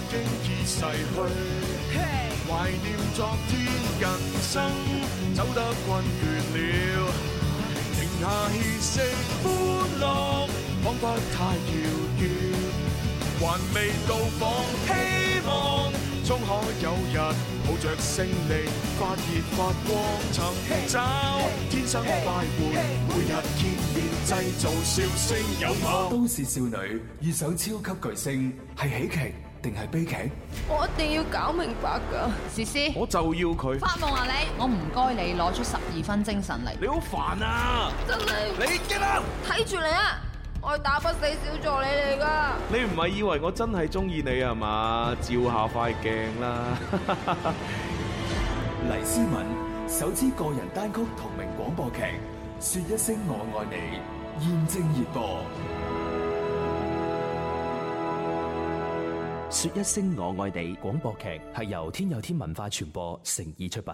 經已逝去，懷念昨天，人生走得困倦了，停下歇息，歡樂彷彿太遙遠，還未到訪，希望終可有日抱着勝利發熱發光，尋找天生快活，每日見面製造笑聲有我。 都市少女遇上超級巨星，係喜劇定係悲劇？ 我一定要搞明白㗎，思思， 我就要佢。 發夢啊你！我唔該你攞出12分精神嚟。 你好煩啊！ 真係， 你激啦！ 睇住你啊！我係打不死小助理嚟㗎。 你唔係以為我真係中意你係嘛？照下塊鏡啦！ 黎思敏首支個人單曲同名廣播劇《說一聲我愛你》現正熱播。 說一聲我愛你廣播劇係由天有天文化傳播誠意出品。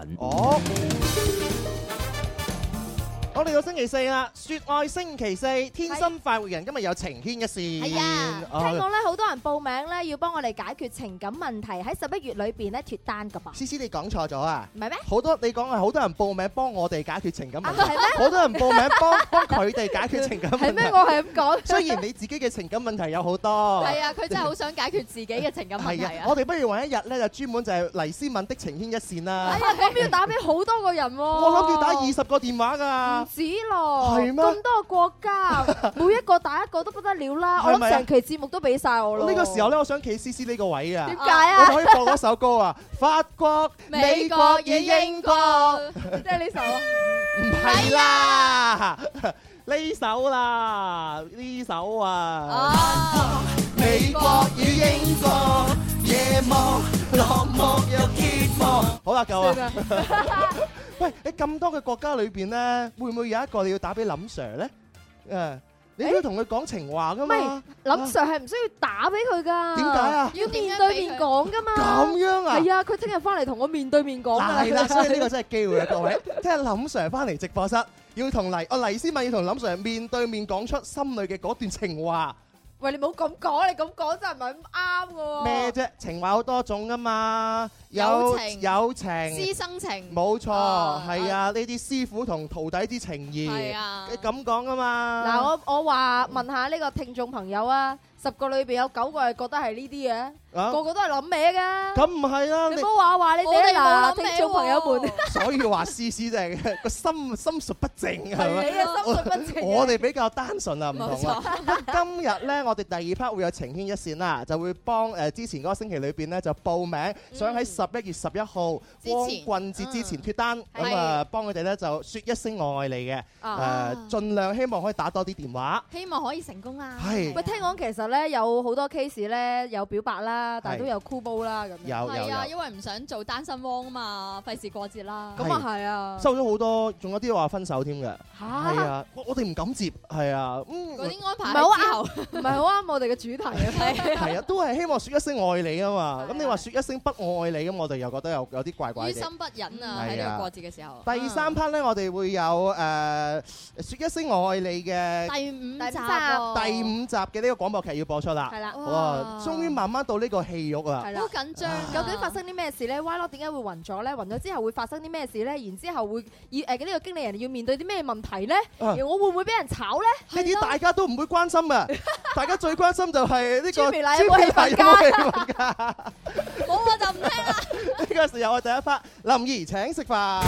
我哋到星期四啦，說愛星期四，天生快活人今日有情牽一線。 係啊，聽講咧好多人報名咧，要幫我哋解決情感問題，喺11月裏邊咧脫單噶噃。 思思你講錯咗啊？ 唔係咩？ 好多你講係好多人報名幫我哋解決情感問題， 係咩？ 好多人報名幫佢哋解決情感問題。 係咩？我係咁講。 雖然你自己嘅情感問題有好多。 係啊，佢真係好想解決自己嘅情感問題啊！ 我哋不如揾一日咧，就專門就係黎思敏的情牽一線啦。 係啊，咁要打俾好多個人喎。 我諗住打20個電話㗎。 唔止咯。 係咩？ 咁多個國家，每一個打一個都不得了啦！我諗成期節目都俾晒我咯。 呢個時候咧，我想企思思呢個位啊。 點解啊？ 我就可以播嗰首歌啊，法國、美國與英國， 即係呢首啊？ 唔係啦，呢首啦，呢首啊。美國與英國，夜幕落幕又揭幕。好啦，夠啦。喂，你咁多嘅國家裏邊咧，會唔會有一個你要打俾林 Sir 咧？你都要同佢講情話噶嘛？ 唔係，林 Sir 係唔需要打俾佢噶。 點解啊？ 要面對面講噶嘛。 咁樣啊？係啊，佢聽日翻嚟同我面對面講㗎啦。 係啦，所以呢個真係機會啊，各位！聽日林 Sir 翻嚟直播室，要同黎思敏要同林 Sir 面對面講出心裏嘅嗰段情話。 喂，你唔好咁講，你咁講真係唔係咁啱嘅喎。 咩啫？情話好多種噶嘛，友情、師生情， 冇錯，係啊，呢啲師傅同徒弟之情義，係啊，咁講噶嘛。 嗱，我話問下呢個聽眾朋友啊，10個裏邊有9個係覺得係呢啲嘅。個個都係諗歪㗎， 咁唔係啦， 你唔好話你哋嗱，聽眾朋友們。 所以話思思就係個心術不正係咪？ 你嘅心術不正。 我哋比較單純啊，唔同啊。今日咧，我哋第2 part 會有情牽一線啦，就會幫之前嗰個星期裏邊咧就報名，想喺11月11號光棍節之前脫單，咁啊幫佢哋咧就説一聲我愛你嘅，盡量希望可以打多啲電話， 希望可以成功啦。 係。 喂，聽講其實咧有好多 case 咧有表白啦。但係都有箍煲啦咁樣， 係啊，因為唔想做單身汪啊嘛，費事過節啦。 咁啊係啊， 收咗好多，仲有啲話分手添嘅。係啊，我哋唔敢接，係啊， 嗰啲安排唔係好啱，唔係好啱我哋嘅主題啊。 係啊，都係希望説一聲愛你啊嘛。咁你話説一聲不愛你，咁我哋又覺得有啲怪怪嘅。 於心不忍啊！喺呢個過節嘅時候。 第3 part 咧，我哋會有説一聲我愛你嘅第5 集嘅呢個廣播劇要播出啦。係啦，哇！終於慢慢到呢個戲肉啊， 好緊張。究竟發生啲咩事咧？Y 羅點解會暈咗咧？暈咗之後會發生啲咩事咧？然之後會呢個經理人要面對啲咩問題咧？我會唔會俾人炒咧？ 呢啲大家都唔會關心嘅，大家最關心就係呢個朱眉奶有冇氣氛㗎？ 冇我就唔聽啦。 呢個時候我第1 part 林怡請食飯。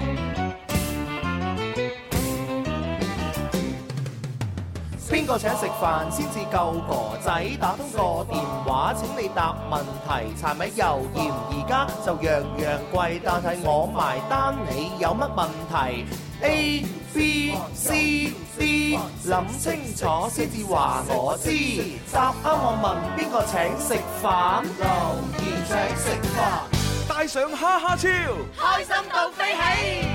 邊個請食飯先至夠哥仔？打通個電話請你答問題。柴米油鹽而家就樣樣貴，但係我埋單。你有乜問題 ？A B C D， 諗清楚先至話我知。答啱我問邊個請食飯？留言請食飯，帶上哈哈超，開心到飛起。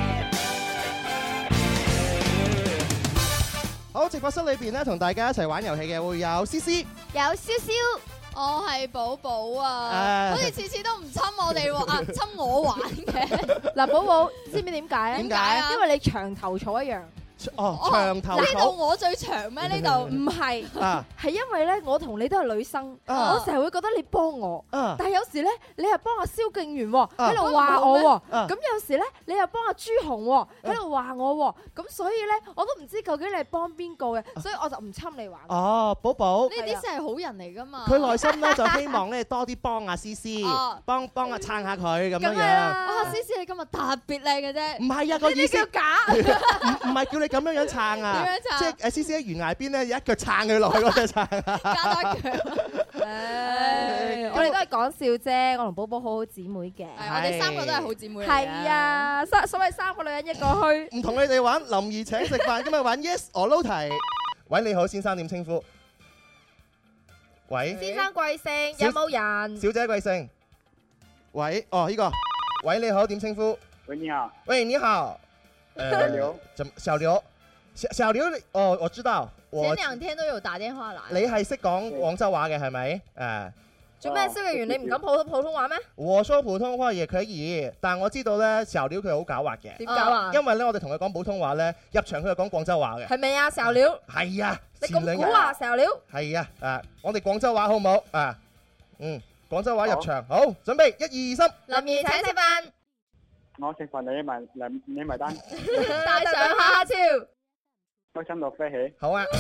好，直播室裏邊咧，同大家一齊玩遊戲嘅會有思思， 有蕭蕭， 我係寶寶啊，好似次次都唔親我哋喎，親我玩嘅。 嗱，寶寶知唔知點解啊？ 點解啊？ 因為你長頭草一樣。 長頭呢度草我最長咩？呢度唔係， 啊係因為咧，我同你都係女生， 啊我成日會覺得你幫我， 啊但係有時咧，你又幫阿蕭敬元喎，喺度話我喎， 啊咁有時咧，你又幫阿朱紅喎，喺度話我喎，咁所以咧，我都唔知究竟你係幫邊個嘅，所以我就唔侵你玩。 哦，寶寶。 呢啲先係好人嚟㗎嘛。 佢內心咧就希望咧多啲幫阿思思，幫啊撐下佢咁樣樣。 哇，思思你今日特別靚嘅啫。 唔係啊，個意思叫假， 唔係叫你咁樣樣撐啊。 點樣撐即係思思喺懸崖邊咧，有一腳撐佢落去嗰隻撐。 加多一腳。 我哋都係講笑啫，我同寶寶好好姊妹嘅。 係我哋三個都係好姊妹嚟嘅。 係啊，所謂三個女人一個墟。 唔同你哋玩，林兒請食飯，今日玩 Yes or No 題。喂，你好，先生點稱呼？喂， 先生貴姓？有冇人？ 小姐貴姓？喂，哦呢個，喂你好，點稱呼？ 喂，你好。 喂，你好。 小劉。 小劉，小劉，哦，我知道。 前兩天都有打電話來。 你係識講廣州話嘅係咪？誒。 做咩？蕭敬元，你唔敢普通話咩？ 我說普通話也可以，但我知道咧，小劉佢好狡猾嘅。 點搞啊？ 因為咧，我哋同佢講普通話咧，入場佢就講廣州話嘅。 係咪啊，小劉？ 係啊。 你咁估啊，小劉？ 係啊，我哋廣州話好唔好啊？廣州話入場，好，準備1、2、3。 林兒請食飯。 我食飯你埋單。 帶上哈哈超。 開心到飛起。 好啊。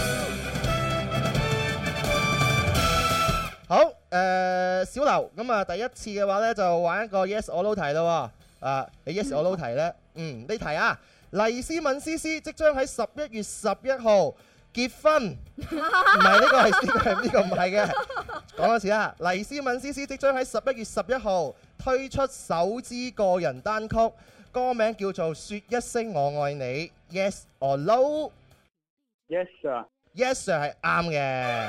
好，小劉，咁啊，第一次嘅話咧就玩一個 Yes or No 題咯。你 Yes or No 題咧，呢題啊，黎思敏思思即將喺11月11號結婚，唔係呢個係呢個唔係嘅，講多次啊，黎思敏思思即將喺11月11號推出首支個人單曲，歌名叫做《說一聲我愛你》，Yes or No？Yes sir。Yes sir 係啱嘅。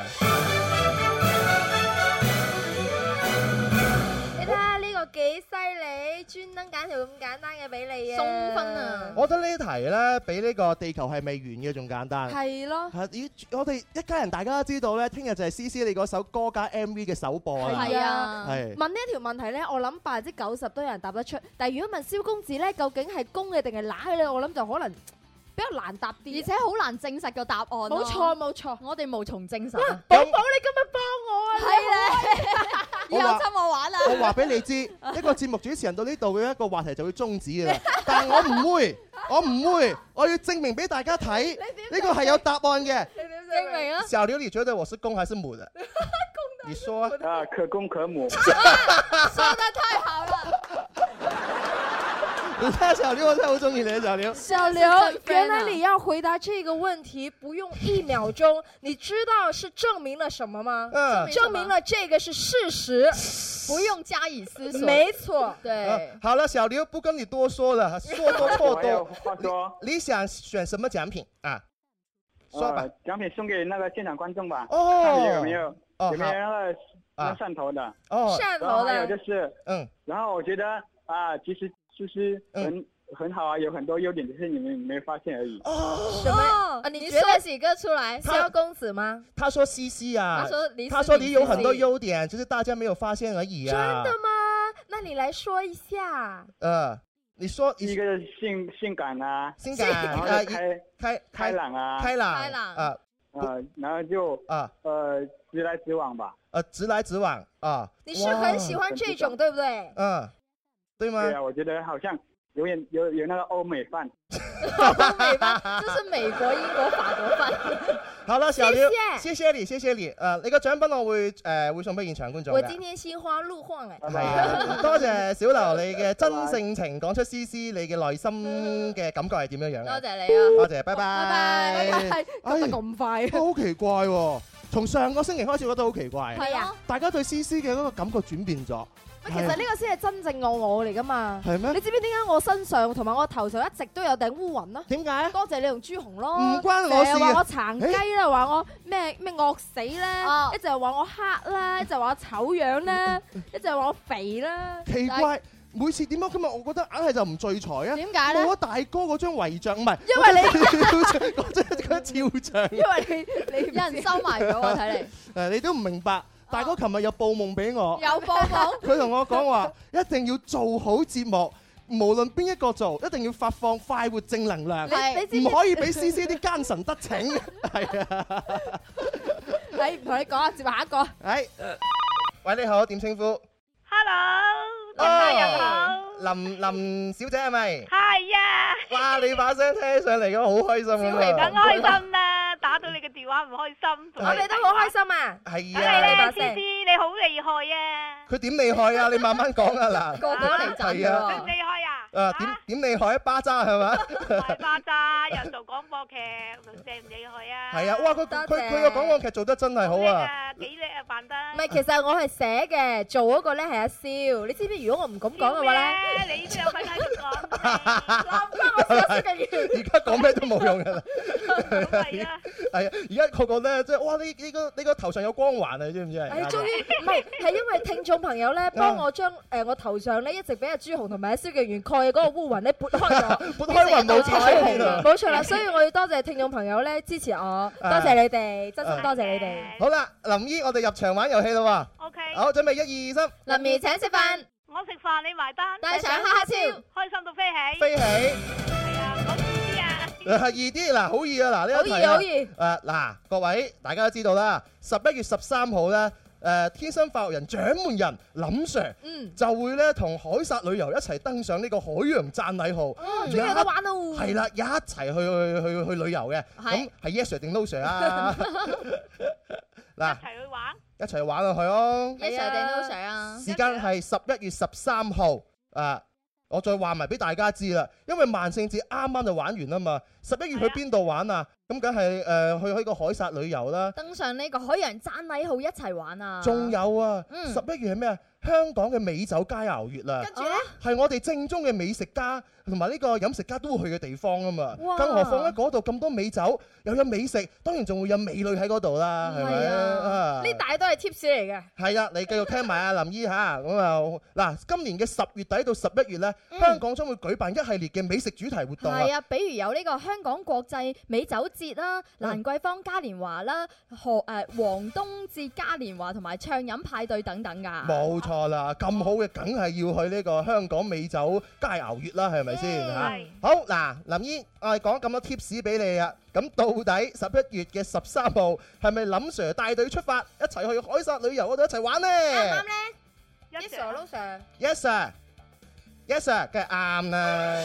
幾犀利，專登揀條咁簡單嘅俾你啊！ 送分啊！ 我覺得呢題咧比呢個地球係未完嘅仲簡單。 係咯。 我哋一家人大家都知道咧，聽日就係思思你嗰首歌加 MV 嘅首播啦。 係啊。 係。 問呢一條問題咧，我諗90%都有人答得出。但係如果問蕭公子咧，究竟係公嘅定係乸嘅咧，我諗就可能比較難答啲， 而且好難證實個答案。 冇錯冇錯， 我哋無從證實。 寶寶，你今日幫我啊！ 係咧。以後侵我玩啦！ 我話俾你知，一個節目主持人到呢度嘅一個話題就會終止嘅啦。但係我唔會，我要證明俾大家睇，呢個係有答案嘅。 你點證明啊？ 小劉，你覺得我是公還是母的？你說啊，可公可母。 說得太好了。 你睇小劉，我真係好中意你啊，小劉。 小劉，原來你要回答這個問題不用1秒鐘，你知道是證明了什麼嗎？證明了這個是事實， 不用加以思索。 沒錯，對。 好了，小劉不跟你多說了，說多錯多。 話說， 你想選什麼獎品啊？說吧。 獎品送給那個現場觀眾吧。 哦。 有沒有那個汕頭的？ 哦。 汕頭的。 還有就是，然後我覺得啊，其實就是很好啊，有很多優點，只是你們沒發現而已。 什麼？你覺得幾個出來？蕭公子嗎？ 他說西西啊， 他說你有很多優點，只是大家沒有發現而已啊。 真的嗎？那你來說一下。 你說一個性感啊， 然後開朗啊，然後就直來直往吧。 直來直往啊。 你是很喜歡這種，對不對？ 對嗎？ 對啊，我覺得好像有那個歐美範。 歐美範，就是美國、英國、法國範。 好了，小劉，謝謝你，謝謝你。你個獎品我會送俾現場觀眾。 我今天心花怒放誒。 係啊，多謝小劉你嘅真性情講出思思你嘅內心嘅感覺係點樣樣。 多謝你啊！ 多謝，拜拜。 拜拜。講得咁快。 好奇怪喎！從上個星期開始覺得好奇怪。 係啊。大家對思思嘅嗰個感覺轉變咗。 其實呢個先係真正我嚟噶嘛？ 係咩？ 你知唔知點解我身上同埋我頭上一直都有頂烏雲啊？ 點解？ 多謝你同朱紅咯。 唔關我事啊！ 話我殘雞啦，話我咩惡死啦，一直話我黑啦，一直話我醜樣啦，一直話我肥啦。 奇怪，每次點解今日我覺得硬係就唔聚財啊？ 點解咧？ 冇咗大哥嗰張遺像，唔係， 因為你嗰張肖像。 因為你有人收埋咗我睇嚟。 你都唔明白。大哥琴日有報夢俾我， 有報夢， 佢同我講話一定要做好節目， 無論邊一個做，一定要發放快活正能量， 你唔可以俾 CC 啲奸臣得逞。係啊， 係唔同你講啊，接下一個。 係，喂，你好，點稱呼 ？Hello，人好。 林小姐係咪？ 係啊。 哇，你把聲聽上嚟咁好開心咁啊！ 梗開心啦，打到你嘅電話唔開心。 我哋都好開心啊！ 係啊，你把聲，你好厲害啊！ 佢點厲害啊？你慢慢講啊嗱。 個個嚟賺㗎。 咁厲害啊！ 點厲害啊？巴渣係嘛？ 係巴渣，又做廣播劇，厲唔厲害啊？ 係啊！哇，佢個廣播劇做得真係好啊！ 幾叻啊，扮得。 唔係，其實我係寫嘅，做嗰個咧係阿蕭。你知唔知？如果我唔咁講嘅話咧， 你都有份喺度講。 而家講咩都冇用㗎啦。 係啊， 係啊！而家個個咧，即係哇！你個頭上有光環啊！你知唔知啊？ 係終於唔係，係因為聽眾朋友咧幫我將我頭上咧一直俾阿朱紅同埋阿蕭敬元蓋嘅嗰個烏雲咧撥開咗， 撥開雲冇彩虹啊！ 冇錯啦，所以我要多謝聽眾朋友咧支持我，多謝你哋，真心多謝你哋。 好啦，林姨，我哋入場玩遊戲啦喎。 OK。 好，準備1、2、3。 林怡請食飯， 我食飯你埋單， 帶上哈哈超， 開心到飛起。 飛起。 係啊，講易啲啊。 易啲嗱，好易啊嗱，呢一題啊。好易。嗱，各位大家都知道啦，11月13號咧。天生快活人掌門人林 Sir 就會咧同海薩旅遊一齊登上呢個海洋讚禮號， 仲有得玩咯！ 係啦，一齊去旅遊嘅，咁係 Yes Sir 定 No Sir 啊？嗱， 一齊去玩， 一齊玩落去哦 ！Yes Sir 定 No Sir 啊？ 時間係11月13號我再話埋俾大家知啦，因為萬聖節啱啱就玩完啊嘛，11月去邊度玩啊？咁梗係去個海薩旅遊啦， 登上呢個海洋讚禮號一齊玩啊！ 仲有啊，11月係咩啊？香港嘅美酒佳肴月啦， 跟住咧係我哋正宗嘅美食家同埋呢個飲食家都會去嘅地方啊嘛。 哇更何況喺嗰度咁多美酒，又有美食，當然仲會有美女喺嗰度啦，係咪啊？ 呢大都係 tips 嚟嘅。 係啊，你繼續聽埋阿林姨嚇咁啊！嗱，今年嘅10月底到11月咧，香港將會舉辦一系列嘅美食主題活動。 係啊，比如有呢個香港國際美酒節啦、蘭桂坊嘉年華啦、黃冬節嘉年華同埋暢飲派對等等㗎。 冇錯啦，咁好嘅梗係要去呢個香港美酒佳肴月啦，係咪先嚇？好嗱，林姨，我哋講咁多 tips 俾你啊。咁到底11月嘅13號係咪林 Sir 帶隊出發，一齊去海薩旅遊嗰度一齊玩呢？ 啱唔啱咧？Yes Sir，No Sir。Yes Sir，Yes Sir，梗係啱啦。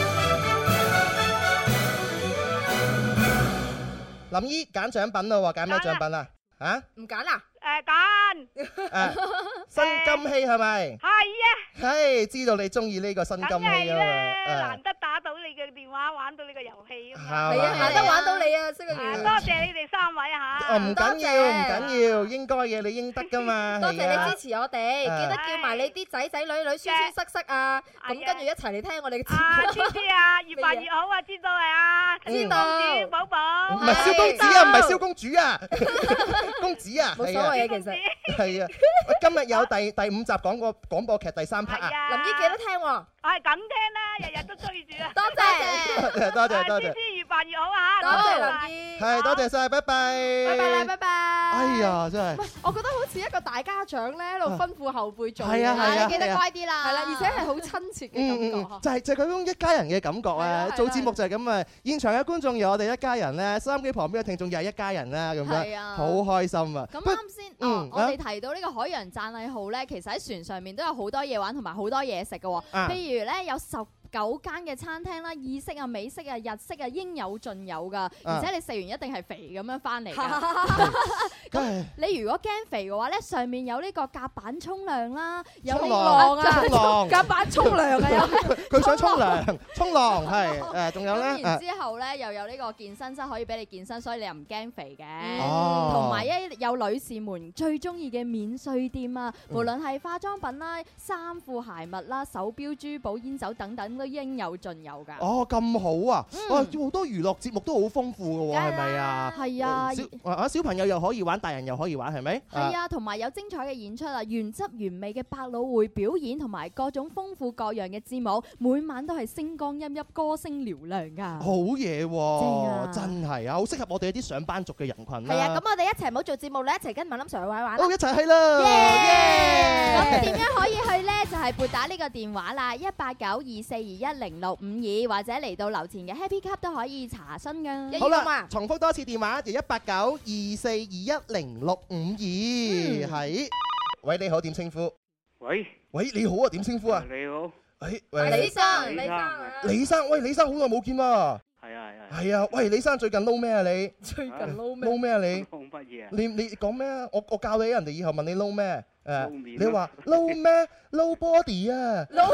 林姨揀獎品啦喎，揀咩獎品啊？嚇？ 唔揀啦？ 揀。 新金禧係咪？ 係啊。 係，知道你中意呢個新金禧啊嘛。 難得打到你嘅電話，玩到呢個遊戲啊嘛。 係啊，難得玩到你啊，蕭敬元。 多謝你哋3位嚇。 唔緊要，唔緊要，應該嘅你應得噶嘛。 多謝你支持我哋，記得叫埋你啲仔仔女女、孫孫塞塞啊，咁跟住一齊嚟聽我哋嘅節目。 知啊，越辦越好啊，知道係啊。 知道。 公主寶寶。 唔係蕭公子啊，唔係蕭公主啊，公子啊。 冇所謂嘅其實。 係啊，今日有第5集廣播劇第3 part 啊。 林姨記得聽喎。 我係咁聽啦，日日都追住啊。 多謝。 多謝多謝。 知越辦越好啊。 多謝林姨。 係，多謝晒，拜拜。 拜拜啦，拜拜。 哎呀，真係。 我覺得好似一個大家長咧，喺度吩咐後輩做。 係啊， 記得乖啲啦。係啦，而且係好親切嘅感覺。 就係嗰種一家人嘅感覺啊！做節目就係咁啊！現場嘅觀眾有我哋一家人咧，收音機旁邊嘅聽眾又係一家人啦，咁樣好開心啊！ 咁啱先，我哋提到呢個海洋讚禮號咧，其實喺船上面都有好多嘢玩同埋好多嘢食嘅喎。譬如咧有19間嘅餐廳啦，意式啊、美式啊、日式啊，應有盡有㗎。而且你食完一定係肥咁樣翻嚟㗎。咁你如果驚肥嘅話咧，上面有呢個甲板沖涼啦，有呢個甲板沖涼啊， 佢想沖涼，沖浪係仲有咧。 然之後咧又有呢個健身室可以俾你健身，所以你又唔驚肥嘅。 同埋有女士們最中意嘅免稅店啊，無論係化妝品啦、衫褲鞋襪啦、手錶、珠寶、煙酒等等。 都應有盡有㗎。 哦，咁好啊！哇，好多娛樂節目都好豐富㗎喎，係咪啊？ 係啊， 小朋友又可以玩，大人又可以玩，係咪？ 係啊，同埋有精彩嘅演出啊，原汁原味嘅百老匯表演同埋各種豐富各樣嘅節目，每晚都係星光熠熠，歌聲嘹亮㗎。 好嘢喎，真係啊，好適合我哋啲上班族嘅人群啦。 係啊，咁我哋一齊唔好做節目咧，一齊跟埋林 Sir 玩玩。 好，一齊去啦！ 咁點樣可以去咧？就係撥打呢個電話啦，18924210652，或者嚟到樓前嘅 Happy Cup 都可以查詢㗎。 好啦，重複多次電話就18924210652，係。喂，你好，點稱呼？ 喂， 你好啊，點稱呼啊？ 你好。 喂， 李生， 李生，喂，李生好耐冇見喎。係啊，喂，李生最近撈咩啊你？ 最近撈咩啊你？ 撈乜嘢啊？ 你講咩啊？我教你，人哋以後問你撈咩？你話撈咩？撈 body 啊！撈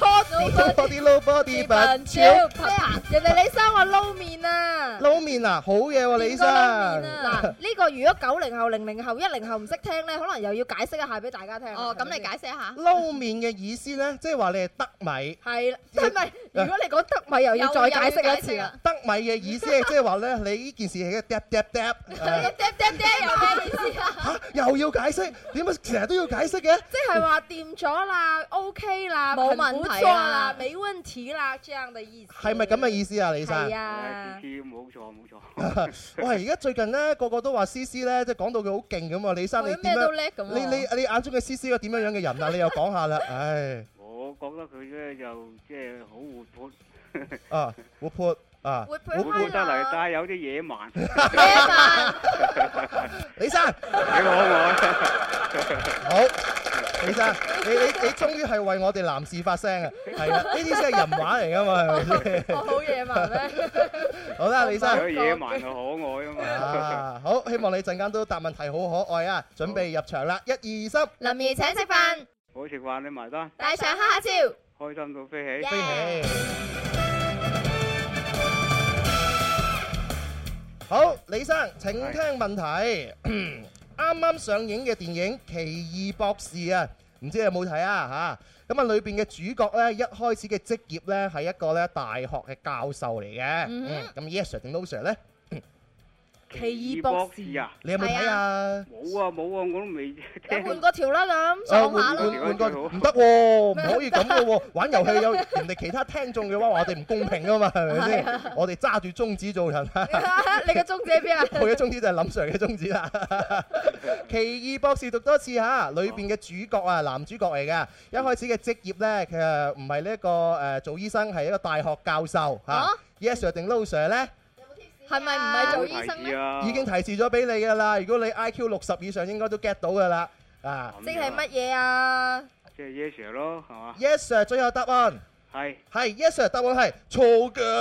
body 笨超！ 人哋李生話撈麵啊！ 撈麵啊，好嘢喎，李生！ 嗱，呢個如果90後、00後、10後唔識聽咧，可能又要解釋一下俾大家聽。 哦，咁你解釋一下。 撈麵嘅意思咧，即係話你係得米。 係啦，係咪？如果你講得米，又要再解釋一次啦。 得米嘅意思係即係話咧，你呢件事係一個嗒有咩意思啊？ 嚇，又要解釋？點解成日都要解釋嘅？ 即係話掂咗啦 ，OK 啦， 冇問題啦，沒問題啦，這樣的意思。 係咪咁嘅意思啊，李生？ 係啊。 冇錯。 喂，而家最近咧，個個都話思思咧，即係講到佢好勁咁啊！李生你點樣？你眼中嘅思思個點樣嘅人啊？你又講下啦，唉。我覺得佢咧就即係好活潑。 啊，活潑啊！ 活潑得嚟，但係有啲野蠻。 李生， 你可愛。 好。李生，你終於係為我哋男士發聲啊！係啊，呢啲先係人話嚟噶嘛，係咪先？ 我好野蠻咩？ 好啦，李生。 有野蠻就可愛啊嘛。 好，希望你陣間都答問題好可愛啊！準備入場啦，1、2、3。 林兒請食飯。 我食飯你埋單。 大腸哈哈超。 開心到飛起。 飛起。好，李生請聽問題。啱啱上映嘅電影《奇異博士》啊，唔知你有冇睇啊嚇？咁啊，裏邊嘅主角咧，一開始嘅職業咧係一個咧大學嘅教授嚟嘅。咁 Yes Sir 定 No Sir 咧？ 奇異博士啊！ 你有冇睇啊？ 冇啊，我都未聽。 換個條啦咁，上下咯。 換個唔得喎，唔可以咁嘅喎。玩遊戲有人哋其他聽眾嘅話，我哋唔公平啊嘛，係咪先？我哋揸住宗旨做人啊！ 你嘅宗旨喺邊啊？ 我嘅宗旨就係林 Sir 嘅宗旨啦。奇異博士讀多次嚇，裏邊嘅主角啊，男主角嚟嘅。一開始嘅職業咧，其實唔係呢一個做醫生，係一個大學教授嚇。Yes Sir 定 No Sir 咧？ 係咪唔係做醫生咧？ 已經提示咗俾你㗎啦。如果你 IQ 60以上，應該都 get 到㗎啦。啊， 即係乜嘢啊？ 即係 Yes Sir 咯，係嘛 ？Yes Sir，最後答案係 Yes Sir，答案係錯㗎。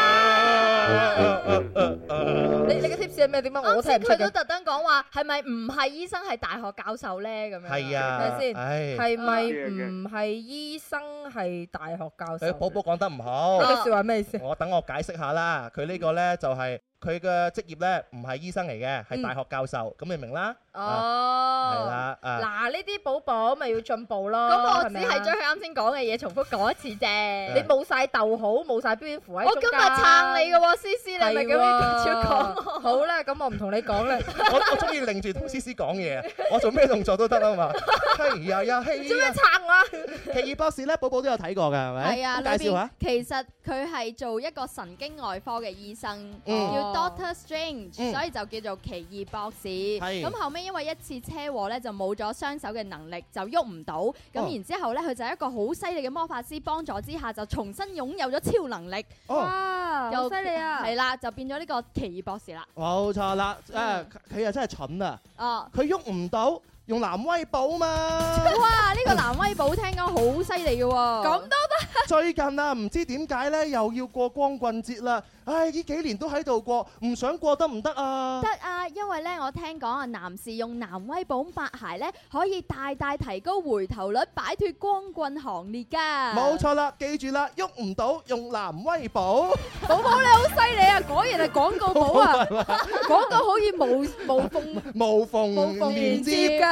你嘅 tips 係咩？點解我聽唔出？ 佢都特登講話係咪唔係醫生係大學教授咧？咁樣係啊， 係咪先？係咪唔係醫生係大學教授？ 寶寶講得唔好。 呢句説話咩意思？ 等我解釋下啦。佢呢個咧就係佢嘅職業咧，唔係醫生嚟嘅，係大學教授。咁你明啦？ 哦， 係啦。 嗱，呢啲寶寶咪要進步咯。 咁我只係將佢啱先講嘅嘢重複講一次啫。 你冇曬逗號，冇曬標點符喺中間。 我今日撐你嘅喎，思思，你咪咁樣超講。 好啦，咁我唔同你講啦。 我中意擰住同思思講嘢，我做咩動作都得啊嘛。係呀，係。 做咩撐我？ 奇異博士咧，寶寶都有睇過㗎，係咪？ 係啊， 介紹下。 其實佢係做一個神經外科嘅醫生，叫 Doctor Strange，所以就叫做奇異博士。咁後尾因為一次車禍咧，就冇咗雙手嘅能力，就喐唔到。咁然之後咧，佢就係一個好犀利嘅魔法師幫助之下，就重新擁有咗超能力。 哇！好犀利啊！ 係啦，就變咗呢個奇異博士啦。 冇錯啦，佢又真係蠢啊！ 哦， 佢喐唔到。用藍威寶嘛？ 哇！呢個藍威寶聽講好犀利嘅喎，咁都得。 最近啊，唔知點解咧，又要過光棍節啦。唉，呢幾年都喺度過，唔想過得唔得啊？ 得啊，因為咧我聽講啊，男士用藍威寶抹鞋咧，可以大大提高回頭率，擺脫光棍行列㗎。 冇錯啦，記住啦，喐唔到用藍威寶。 寶寶你好犀利啊！果然係廣告寶啊！廣告可以無縫連接㗎。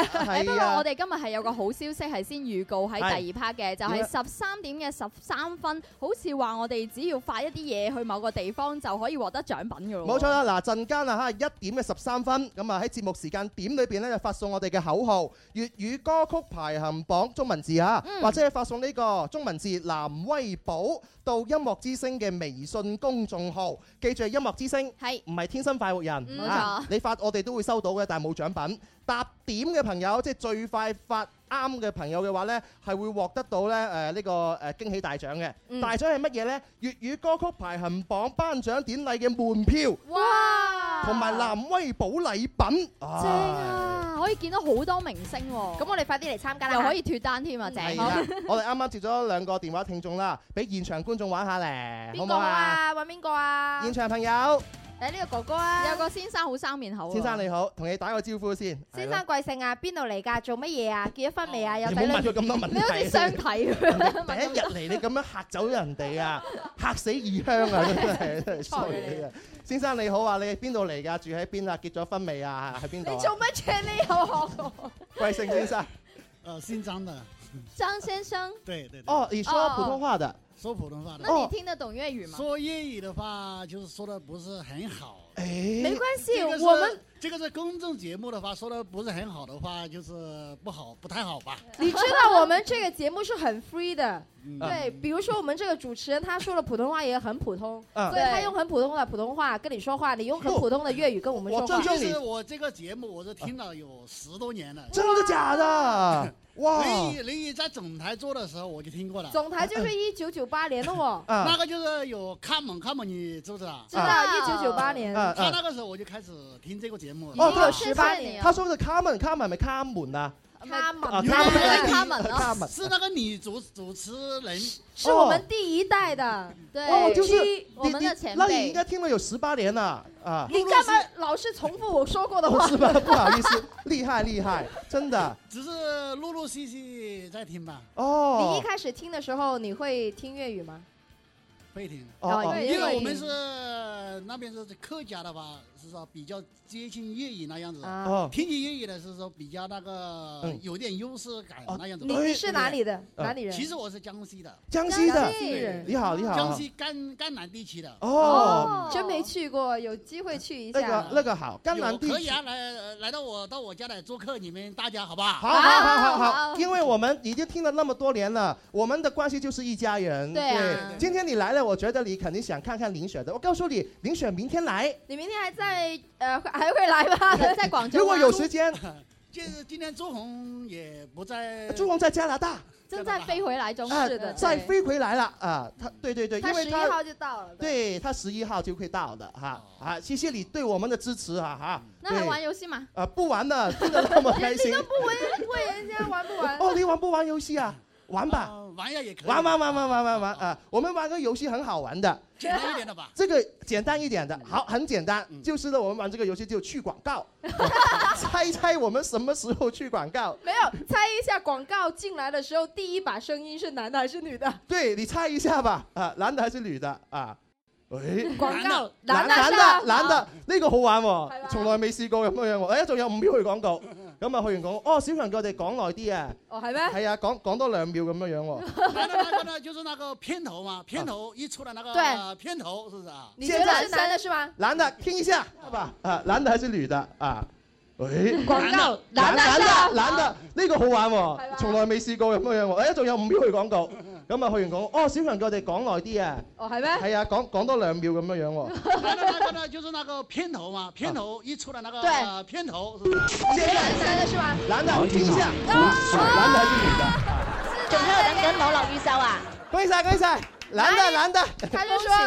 不過我哋今日係有個好消息係先預告喺第二 part 嘅，就係13點嘅13分，好似話我哋只要發一啲嘢去某個地方就可以獲得獎品㗎咯。 冇錯啦，嗱陣間啊嚇1點嘅13分，咁啊喺節目時間點裏邊咧就發送我哋嘅口號粵語歌曲排行榜中文字嚇，或者係發送呢個中文字藍威寶到音樂之聲嘅微信公眾號，記住係音樂之聲，係唔係天生快活人？ 冇錯， 你發我哋都會收到嘅，但係冇獎品。答點嘅朋友，即係最快發啱嘅朋友嘅話呢，係會獲得到咧呢個驚喜大獎嘅。大獎係乜嘢呢？粵語歌曲排行榜頒獎典禮嘅門票，哇！同埋藍威寶禮品，正啊！可以見到好多明星喎。 咁我哋快啲嚟參加啦， 又可以脫單添啊！正。 我哋啱啱接咗2個電話聽眾啦，俾現場觀眾玩下咧，好唔好啊？ 揾邊個啊？ 現場朋友。 呢個哥哥啊， 有個先生好生面口啊！ 先生你好，同你打個招呼先。 先生貴姓啊？邊度嚟㗎？做乜嘢啊？結咗婚未啊？有仔女？你唔好問佢咁多問題。 你好似相睇咁。 第一日嚟你咁樣嚇走人哋啊，嚇死異鄉啊！真係衰你啊！先生你好啊，你係邊度嚟㗎？住喺邊啊？結咗婚未啊？喺邊度？ 你做乜嘢？你又學我？ 貴姓先生？ 姓張的。 張先生。 對對。 哦，你說普通話的。 說普通話的。 那你聽得懂粵語嗎？ 說粵語的話，就是說的不是很好。 哎， 沒關係，我們這個是公眾節目的話，說的不是很好的話，就是不好，不太好吧？ 你知道我們這個節目是很 free 的，對，比如說我們這個主持人，他說的普通話也很普通，所以他用很普通的普通話跟你說話，你用很普通的粵語跟我們說話。 其實我這個節目我是聽了有10多年了。 真的假的？哇！ 你在總台做的時候我就聽過了。 總台就是1998年的我。 那個就是有卡門，你知不知道？ 知道，1998年。 他那個時候我就開始聽這個節目。 已經有18年。 他說的卡門係咪卡門啊？ 卡門， 卡門是那個女主持人， 是我們第一代的，對， 就是我們的前輩。 那你應該聽了有18年了啊！ 你幹嘛老是重複我說過的話？ 是吧？不好意思，厲害，真的。 只是陸陸續續在聽吧。 哦，你一開始聽的時候，你會聽粵語嗎？ 會聽。 因為我們是那邊是客家的話，是說比較接近粵語那樣子。聽起粵語的是說比較那個有點優勢感那樣子。 你是哪裡的？哪裡人？ 其實我是江西的。 江西的人。 你好。 江西贛南地區的。 哦，真沒去過，有機會去一下。 那個好，贛南地區。 可以啊，來到我家來做客，你們大家好不好？ 好。因為我們已經聽了那麼多年了，我們的關係就是一家人。 對啊。 今天你來了，我覺得你肯定想看看林雪的。我告訴你，林雪明天來。 你明天還在還會來嗎？在廣州。 如果有時間， 就是今天朱紅也不在。 朱紅在加拿大， 正在飛回來中。是的， 再飛回來了啊！他對，因為他11號就到了。 對，他11號就會到的哈啊！謝謝你對我們的支持哈。 那還玩遊戲嗎？ 不玩了，真的那麼開心。 你都不問人家玩不玩？ 哦，你玩不玩遊戲啊？玩吧， 玩呀也可以。 玩啊！我們玩個遊戲很好玩的， 簡單一點的吧。 這個簡單一點的，好，很簡單，就是呢，我們玩這個遊戲就去廣告，猜我們什麼時候去廣告？ 沒有，猜一下廣告進來的時候，第一把聲音是男的還是女的？ 對，你猜一下吧，啊，男的還是女的啊？誒， 廣告， 男的，呢個好玩喎，從來未試過咁樣喎。仲有5秒去廣告。咁啊，去完講，小強叫我哋講耐啲啊。 哦，係咩？ 係啊，講多2秒咁樣喎。 那個呢，就是那個片頭嘛，片頭一出來那個片頭，是不是啊？ 你覺得是男的是嗎？ 男的，聽一下，好吧？啊，男的還是女的啊？誒， 廣告，男的，呢個好玩喎，從來未試過咁樣喎。仲有5秒去廣告。咁啊，去完講，小強叫我哋講耐啲啊。 哦，係咩？ 係啊，講多2秒咁樣喎。 那個呢，就是那個片頭嘛，片頭一出來那個片頭，是不是？ 男的是嗎？ 男的，聽一下。男的還是女的？ 仲喺度等緊網絡預售啊！ 恭喜晒！男的。 他就說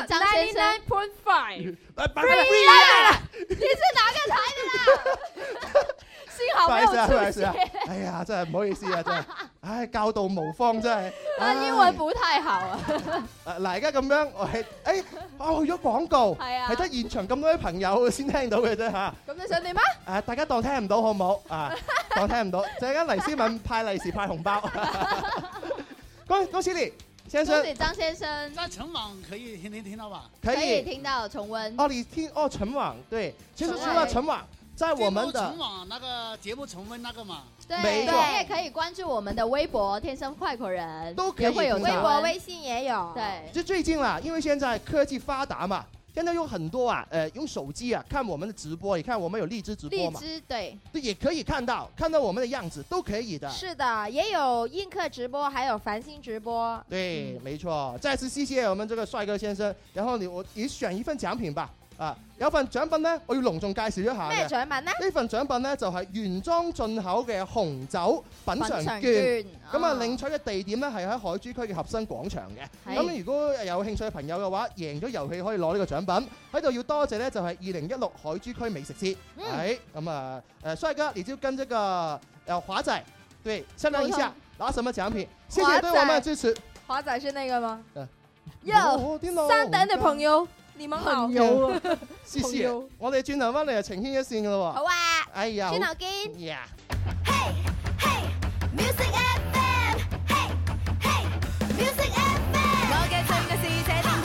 99.5。 你是哪個台的啦？幸好沒有出現。 哎呀，真係唔好意思啊，真係，唉，教導無方真係。 英文不太好啊。 嗱，而家咁樣，我係，去咗廣告，係得現場咁多啲朋友先聽到嘅啫嚇。 咁你想點啊？ 大家當聽唔到好唔好？當聽唔到，陣間黎思敏派利是派紅包。恭喜你，先生。 恭喜張先生。 在晨網可以聽到吧？ 可以聽到重溫。 你聽晨網對，其實除了晨網。 在我們的重網那個節目重溫那個嘛， 對， 沒錯你也可以關注我們的微博天生快活人， 都可以會有微博、微信也有。 對， 就最近啦，因為現在科技發達嘛，現在有很多啊，用手機啊看我們的直播，你看我們有荔枝直播嘛， 荔枝對， 也可以看到我們的樣子，都可以的。 是的，也有映客直播，還有繁星直播。 對，沒錯。再次謝謝我們這個帥哥先生，然後你選一份獎品吧。啊，有份獎品呢，我要隆重介紹一下嘅。 咩獎品呢？ 呢份獎品呢，就係原裝進口嘅紅酒品嚐券。咁啊，領取嘅地點呢，係喺海珠區嘅合生廣場嘅。咁如果有興趣嘅朋友嘅話，贏咗遊戲可以攞呢個獎品。喺度要多謝呢，就係2016海珠區美食節。係咁啊，帥哥，你就跟這個華仔對商量一下，拿什麼獎品？謝謝對我們的支持。 華仔是那個嗎？ 有三等的朋友。你們好， 有啊，謝謝。我哋轉頭翻嚟就情牽一線噶咯喎。 好啊， 哎呀， 轉頭見。 呀。 Hey hey music FM， Hey hey music FM， 我嘅最愛是這電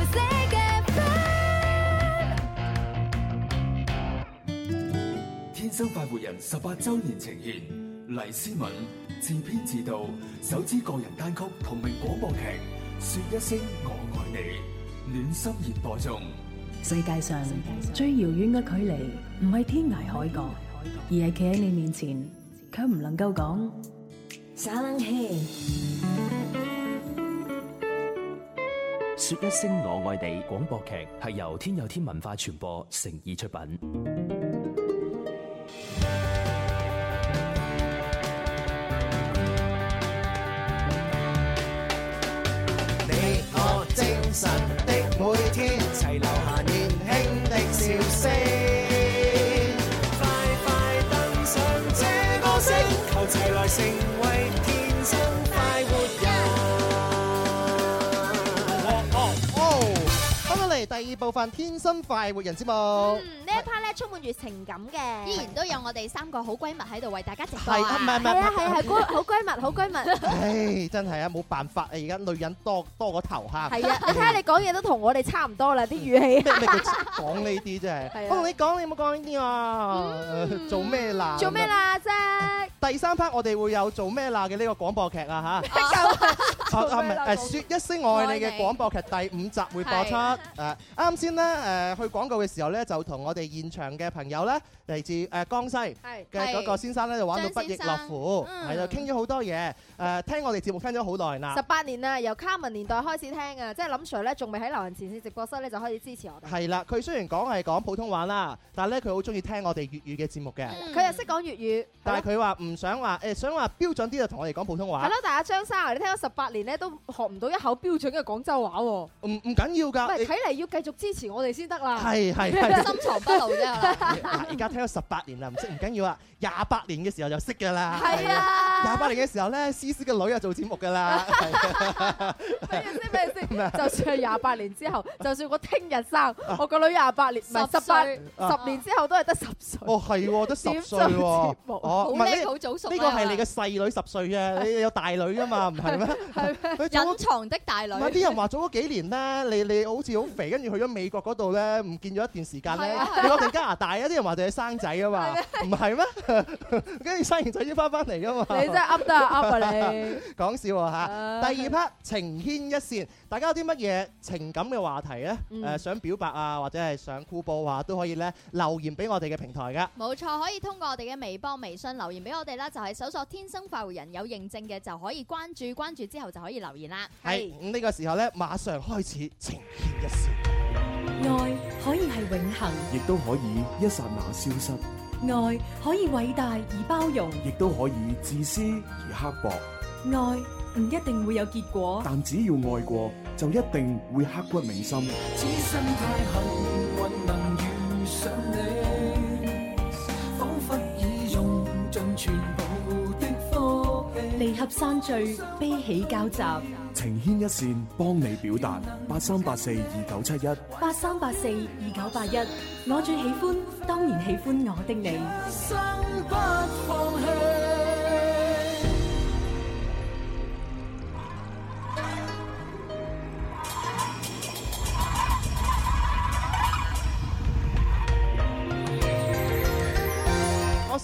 台 music FM。 天生快活人18周年呈獻，黎思敏自編自導首支個人單曲同名廣播劇《說一聲我愛你》。暖心熱播中， 世界上最遙遠嘅距離，唔係天涯海角，而係企喺你面前，卻唔能夠講撒冷氣。 說一聲我愛你廣播劇係由天有天文化傳播誠意出品。 你我精神的每天，齊留下年輕的笑聲。快快登上這個星球，齊來成為天生快活人。翻到嚟第二部分《天生快活人》節目。 呢一 part 咧充滿住情感嘅， 依然都有我哋3個好閨蜜喺度為大家直播。 係啊，唔係， 好閨蜜。 唉，真係啊，冇辦法啊，而家女人多個頭嚇。 係啊，你睇下你講嘢都同我哋差唔多啦，啲語氣。 咩叫講呢啲真係？我同你講，你冇講呢啲啊？做咩啦？ 做咩啦啫？ 第3 part 我哋會有做咩啦嘅呢個廣播劇啊嚇。唔係説一聲愛你嘅廣播劇第5集會播出。啱先咧去廣告嘅時候咧，就同我哋現場嘅朋友咧嚟自江西嘅嗰個先生咧就玩到不亦樂乎，係就傾咗好多嘢。聽我哋節目聽咗好耐啦 ，18年啦，由卡文年代開始聽啊，即係林 Sir 咧仲未喺流行前線直播室咧就開始支持我哋。 係啦，佢雖然係講普通話啦，但係咧佢好中意聽我哋粵語嘅節目嘅。 佢又識講粵語， 但係佢話唔想話想話標準啲就同我哋講普通話。 係咯，但係阿張生，你聽咗18年咧都學唔到一口標準嘅廣州話喎。 唔緊要㗎， 睇嚟要繼續支持我哋先得啦。 係深藏不露啫。 而家聽咗18年啦，唔識唔緊要啊，28年嘅時候就識㗎啦。 係啊 ，28年嘅時候咧，思思嘅女又做節目㗎啦。 咩先？就算係28年之後，就算我聽日生，我個女28年，唔係10年之後都係得10歲。 哦，係喎，得10歲喎。 好叻，好早熟。 呢個係你嘅細女10歲啫，你有大女㗎嘛？唔係咩？ 係隱藏的大女。 唔係啲人話早咗幾年咧，你好似好肥，跟住去咗美國嗰度咧，唔見咗一段時間咧。你講定加拿大啊？啲人話就係生仔啊嘛，唔係咩？跟住生完仔先翻嚟㗎嘛。 你真係噏得噏啊你！ 講笑啊嚇！第2 part 情牽一線，大家有啲乜嘢情感嘅話題咧？想表白啊，或者係想酷報啊，都可以咧留言俾我哋嘅平台噶。 冇錯，可以通過我哋嘅微博、微信留言俾我哋啦，就係搜索天生快活人有認證嘅就可以關注，關注之後就可以留言啦。 係咁呢個時候咧，馬上開始情牽一線。 愛可以係永恆， 亦都可以一剎那消失。 愛可以偉大而包容， 亦都可以自私而刻薄。 愛唔一定會有結果， 但只要愛過，就一定會刻骨銘心。 此生太幸運能遇上你，彷彿已用盡全部的福氣。 離合散聚，悲喜交集， 情牽一線，幫你表達。83842971 83842981，我最喜歡，當然喜歡我的你。 生不放棄。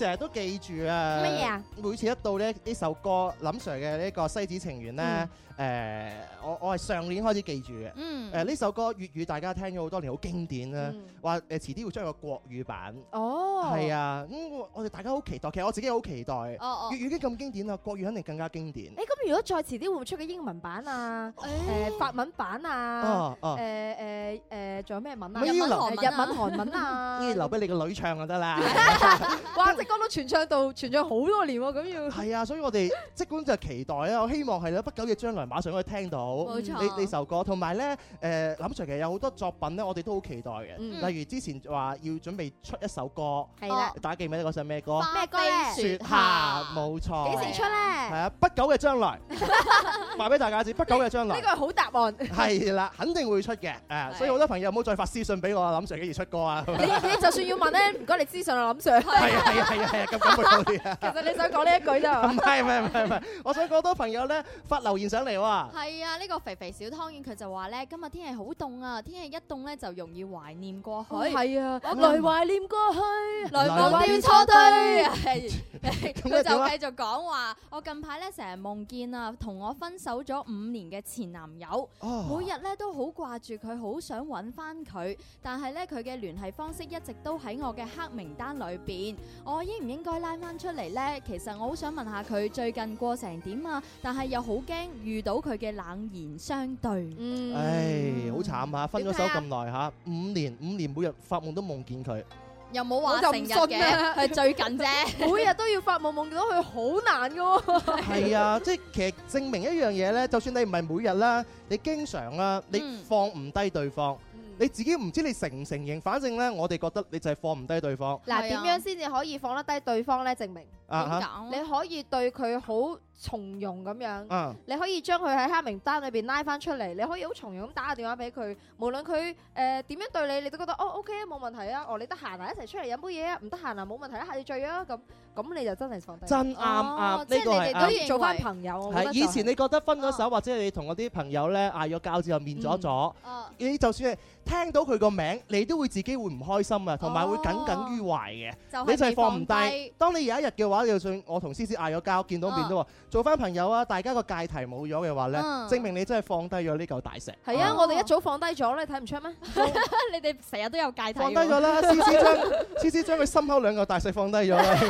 成日都記住啊。 乜嘢啊？ 每次一到呢首歌林 Sir 嘅呢個西子情緣咧，我係上年開始記住嘅。呢首歌粵語大家聽咗好多年，好經典啦。話遲啲會出個國語版。 哦， 係啊，我哋大家好期待。其實我自己好期待。粵語已經咁經典啦，國語肯定更加經典。 咁如果再遲啲會唔會出個英文版啊？法文版啊？仲有咩文啊？日文、韓文啊？ 呢啲留俾你個女唱就得啦。 哇！即歌都傳唱好多年喎，咁要係啊，所以我哋即管就期待啦。我希望係啦，不久嘅將來馬上可以聽到呢首歌。同埋咧，林 Sir 其實有好多作品咧，我哋都好期待嘅。例如之前話要準備出一首歌，係啦，大家記唔記得嗰首咩歌？ 咩歌咧？ 雪下，冇錯。 幾時出咧？ 係啊，不久嘅將來，話俾大家知，不久嘅將來。 呢個係好答案。 係啦，肯定會出嘅。所以好多朋友唔好再發私信俾我，林 Sir 幾時出歌啊？ 你就算要問咧，唔該你私信啊，林 Sir。 係啊，咁講好啲啊。 其實你想講呢一句啫嘛？ 唔係，我想好多朋友咧發留言上嚟喎。 係啊，呢個肥肥小湯圓佢就話咧，今日天氣好凍啊，天氣一凍咧就容易懷念過去。 係啊，來懷念過去，來忘掉錯對。 佢就繼續講話，我近排咧成日夢見啊，同我分手咗5年嘅前男友，每日咧都好掛住佢，好想揾翻佢，但係咧佢嘅聯繫方式一直都喺我嘅黑名單裏邊，我應唔應該拉翻出嚟呢？其實我好想問下佢最近過成點啊，但係又好驚遇到佢嘅冷言相對。 唉，好慘啊！分咗手咁耐嚇，5年每日發夢都夢見佢。 又冇話成日嘅，係最近啫。 每日都要發夢夢見到佢，好難㗎喎。 係啊，即係其實證明一樣嘢咧，就算你唔係每日啦，你經常啦，你放唔低對方。你自己唔知你承唔承認，反正咧，我哋覺得你就係放唔低對方。 嗱，點樣先至可以放得低對方咧？證明你可以對佢好從容咁樣，你可以將佢喺黑名單裏邊拉翻出嚟，你可以好從容咁打個電話俾佢，無論佢點樣對你，你都覺得OK 啊，冇問題啊，你得閒啊，一齊出嚟飲杯嘢啊，唔得閒啊，冇問題啊，下次聚啊，咁你就真係放低。 真啱，呢個係可以做翻朋友。 係以前你覺得分咗手，或者你同嗰啲朋友咧嗌咗交之後面咗，你就算係聽到佢個名，你都會自己會唔開心啊，同埋會耿耿於懷嘅。你就係放唔低。當你有一日嘅話，就算我同思思嗌咗交，見到面都話做翻朋友啊，大家個界題冇咗嘅話咧，證明你真係放低咗呢嚿大石。 係啊，我哋一早放低咗，你睇唔出咩？ 你哋成日都有界題。 放低咗啦，思思將佢心口2嚿大石放低咗啦。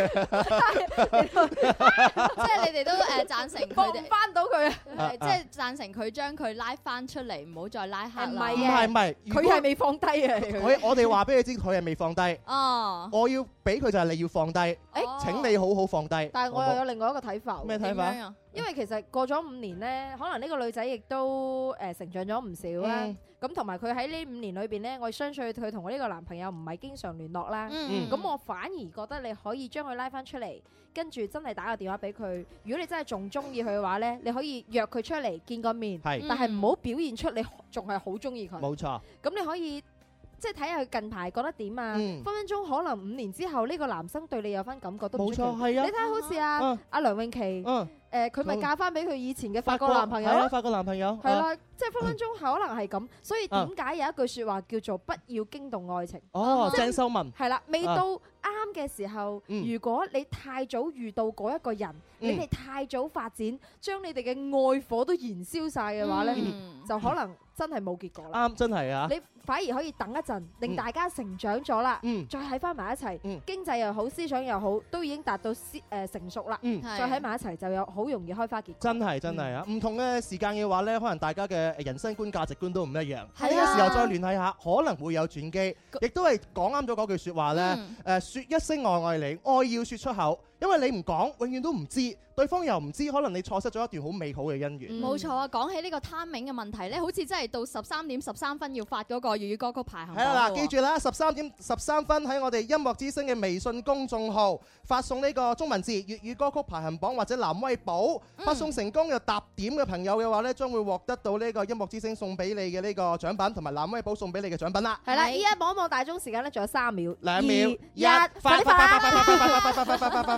即係你哋都贊成佢哋翻到佢， 即係贊成佢將佢拉翻出嚟，唔好再拉黑啦。 唔係， 佢係未放低啊！ 我哋話俾你知，佢係未放低。我要俾佢就係你要放低。請你好好放低。 但係我又有另外一個睇法。 咩睇法？ 因為其實過咗5年咧，可能呢個女仔亦都成長咗唔少啦。咁同埋佢喺呢5年裏邊咧，我相信佢同我呢個男朋友唔係經常聯絡啦。咁我反而覺得你可以將佢拉翻出嚟，跟住真係打個電話俾佢。如果你真係仲中意佢嘅話咧，你可以約佢出嚟見個面。但係唔好表現出你仲係好中意佢。 冇錯。 咁你可以即係睇下佢近排覺得點啊？分分鐘可能5年之後呢個男生對你有翻感覺都唔出奇。冇錯，係啊。你睇下好似阿梁詠琪，佢咪嫁翻俾佢以前嘅法國男朋友咯？ 法國男朋友係啦，即係分分鐘可能係咁。所以點解有一句説話叫做不要驚動愛情？ 鄭秀文係啦，未到啱嘅時候，如果你太早遇到嗰一個人，你哋太早發展，將你哋嘅愛火都燃燒晒嘅話咧，就可能真係冇結果啦。 啱，真係啊！ 你反而可以等一陣，令大家成長咗啦，再喺翻埋一齊，經濟又好，思想又好，都已經達到成熟啦，再喺埋一齊就有好容易開花結果。 真係啊！唔同嘅時間嘅話咧，可能大家嘅人生觀、價值觀都唔一樣。呢個時候再聯繫下，可能會有轉機。亦都係講啱咗嗰句説話咧，説一聲我愛你，愛要説出口。因為你唔講，永遠都唔知，對方又唔知，可能你錯失咗一段好美好嘅姻緣。 冇錯啊！講起呢個 timing 嘅問題咧，好似真係到13點13分要發嗰個粵語歌曲排行榜。係啦， 記住啦，13點13分喺我哋音樂之聲嘅微信公眾號發送呢個中文字粵語歌曲排行榜或者藍威寶，發送成功又答點嘅朋友嘅話咧，將會獲得到呢個音樂之聲送俾你嘅呢個獎品，同埋藍威寶送俾你嘅獎品啦。 係啦，依家望一望大鐘時間咧，仲有3秒、 2秒、1， 快啲發！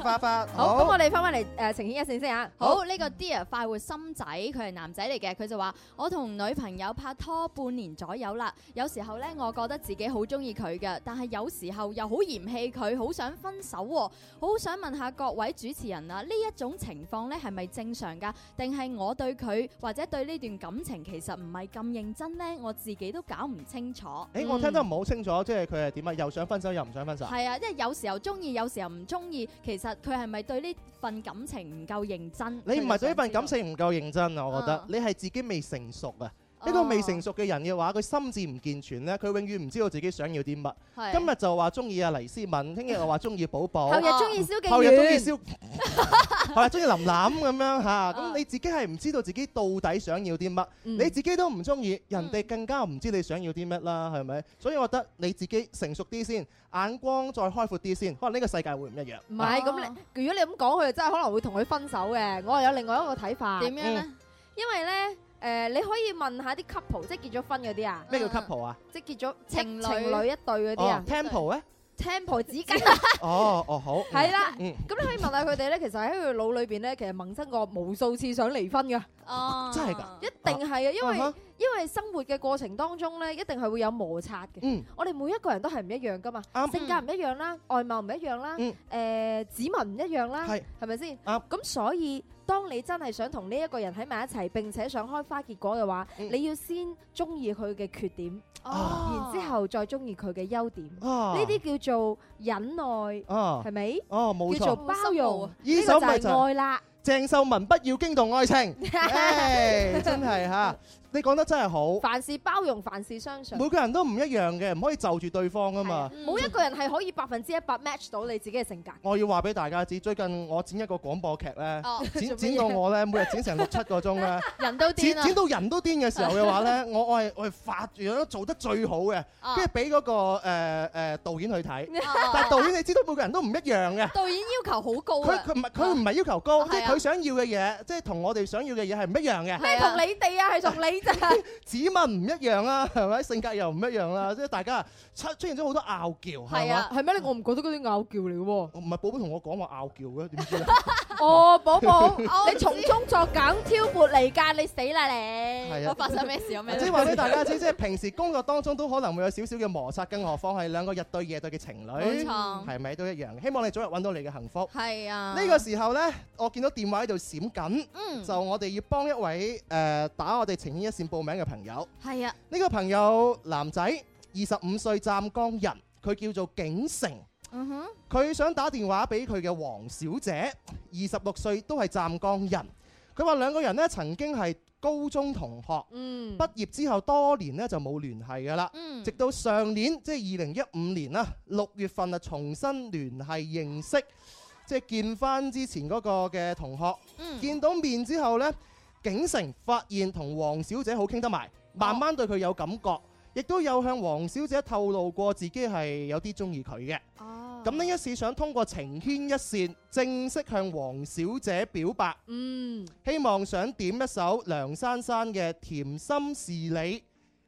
發發。 好，咁我哋翻返嚟呈現一線先嚇。 好，呢個 Dear 快活心仔，佢係男仔嚟嘅，佢就話：我同女朋友拍拖半年左右啦，有時候呢，我覺得自己好中意佢嘅，但係有時候又好嫌棄佢，好想分手喎。好想問下各位主持人啊，呢一種情況呢係咪正常㗎？定係我對佢或者對呢段感情其實唔係咁認真呢？我自己都搞唔清楚。 我聽得唔好清楚，即係佢係點啊？又想分手又唔想分手？ 係啊，即係有時候中意，有時候唔中意。其實佢係咪對呢份感情唔夠認真？ 你唔係對呢份感情唔夠認真啊！我覺得你係自己未成熟啊！一個未成熟嘅人嘅話，佢心智唔健全咧，佢永遠唔知道自己想要啲乜。今日就話中意阿黎思敏，聽日又話中意寶寶， 後日中意蕭敬元， 後日中意後日中意林琳咁樣嚇。咁你自己係唔知道自己到底想要啲乜，你自己都唔中意，人哋更加唔知你想要啲乜啦，係咪？所以我覺得你自己成熟啲先，眼光再開闊啲先，可能呢個世界會唔一樣。 唔係咁，如果你咁講，佢真係可能會同佢分手嘅。我係有另外一個睇法。 點樣咧？ 因為咧。你可以問下啲 couple， 即係結咗婚嗰啲啊？ 咩叫 couple 啊？ 即係結咗情侶一對嗰啲啊 ？Temple 咧 ？Temple 紙巾。 哦好。 係啦，咁你可以問下佢哋咧，其實喺佢腦裏邊咧，其實萌生過無數次想離婚㗎。 哦， 真係㗎？ 一定係啊，因為生活嘅過程當中咧，一定係會有摩擦嘅。我哋每一個人都係唔一樣㗎嘛，性格唔一樣啦，外貌唔一樣啦，指紋唔一樣啦，係咪先？咁所以。當你真係想同呢一個人喺埋一齊，並且想開花結果嘅話，你要先中意佢嘅缺點，然之後再中意佢嘅優點。呢啲叫做忍耐，係咪？ 冇錯， 叫做包容， 呢個就係愛啦。 鄭秀文不要驚動愛情，真係嚇。你講得真係好， 凡事包容，凡事相信。 每個人都唔一樣嘅，唔可以就住對方啊嘛。 冇一個人係可以100% match 到你自己嘅性格。 我要話俾大家知，最近我剪一個廣播劇咧，剪到我咧，每日剪成6-7個鐘咧， 人都癲啦。 剪到人都癲嘅時候嘅話咧，我係發住做得最好嘅，跟住俾嗰個導演去睇。但係導演你知道每個人都唔一樣嘅。 導演要求好高啊！ 佢唔係要求高，即係佢想要嘅嘢，即係同我哋想要嘅嘢係唔一樣嘅。 咩同你哋啊？係同你。 指紋唔一樣啦，係咪？性格又唔一樣啦，即係大家出現咗好多拗撬，係嘛？ 係咩？我唔覺得嗰啲拗撬嚟嘅喎。 唔係寶寶同我講話拗撬嘅，點知咧？ 寶寶，你從中作梗挑撥離間，你死啦你！ 係啊， 我發生咩事有咩？ 即係話俾大家知，即係平時工作當中都可能會有少少嘅摩擦，更何況係兩個日對夜對嘅情侶， 冇錯， 係咪都一樣？希望你早日揾到你嘅幸福。 係啊。 呢個時候咧，我見到電話喺度閃緊，就我哋要幫一位打我哋情牽一線報名嘅朋友。 係啊， 呢個朋友男仔，25歲湛江人，佢叫做景成。佢想打電話俾佢嘅黃小姐，26歲都係湛江人。佢話兩個人呢曾經係高中同學，畢業之後多年呢就冇聯繫㗎啦。直到上年即係2015年啦，6月份啊重新聯繫認識，即係見翻之前嗰個嘅同學。見到面之後呢，景成發現同黃小姐好傾得埋。慢慢對佢有感覺，亦都有向黃小姐透露過自己係有啲中意佢嘅。咁呢一次想通過情牽一線正式向黃小姐表白。希望想點一首梁珊珊嘅《甜心是你》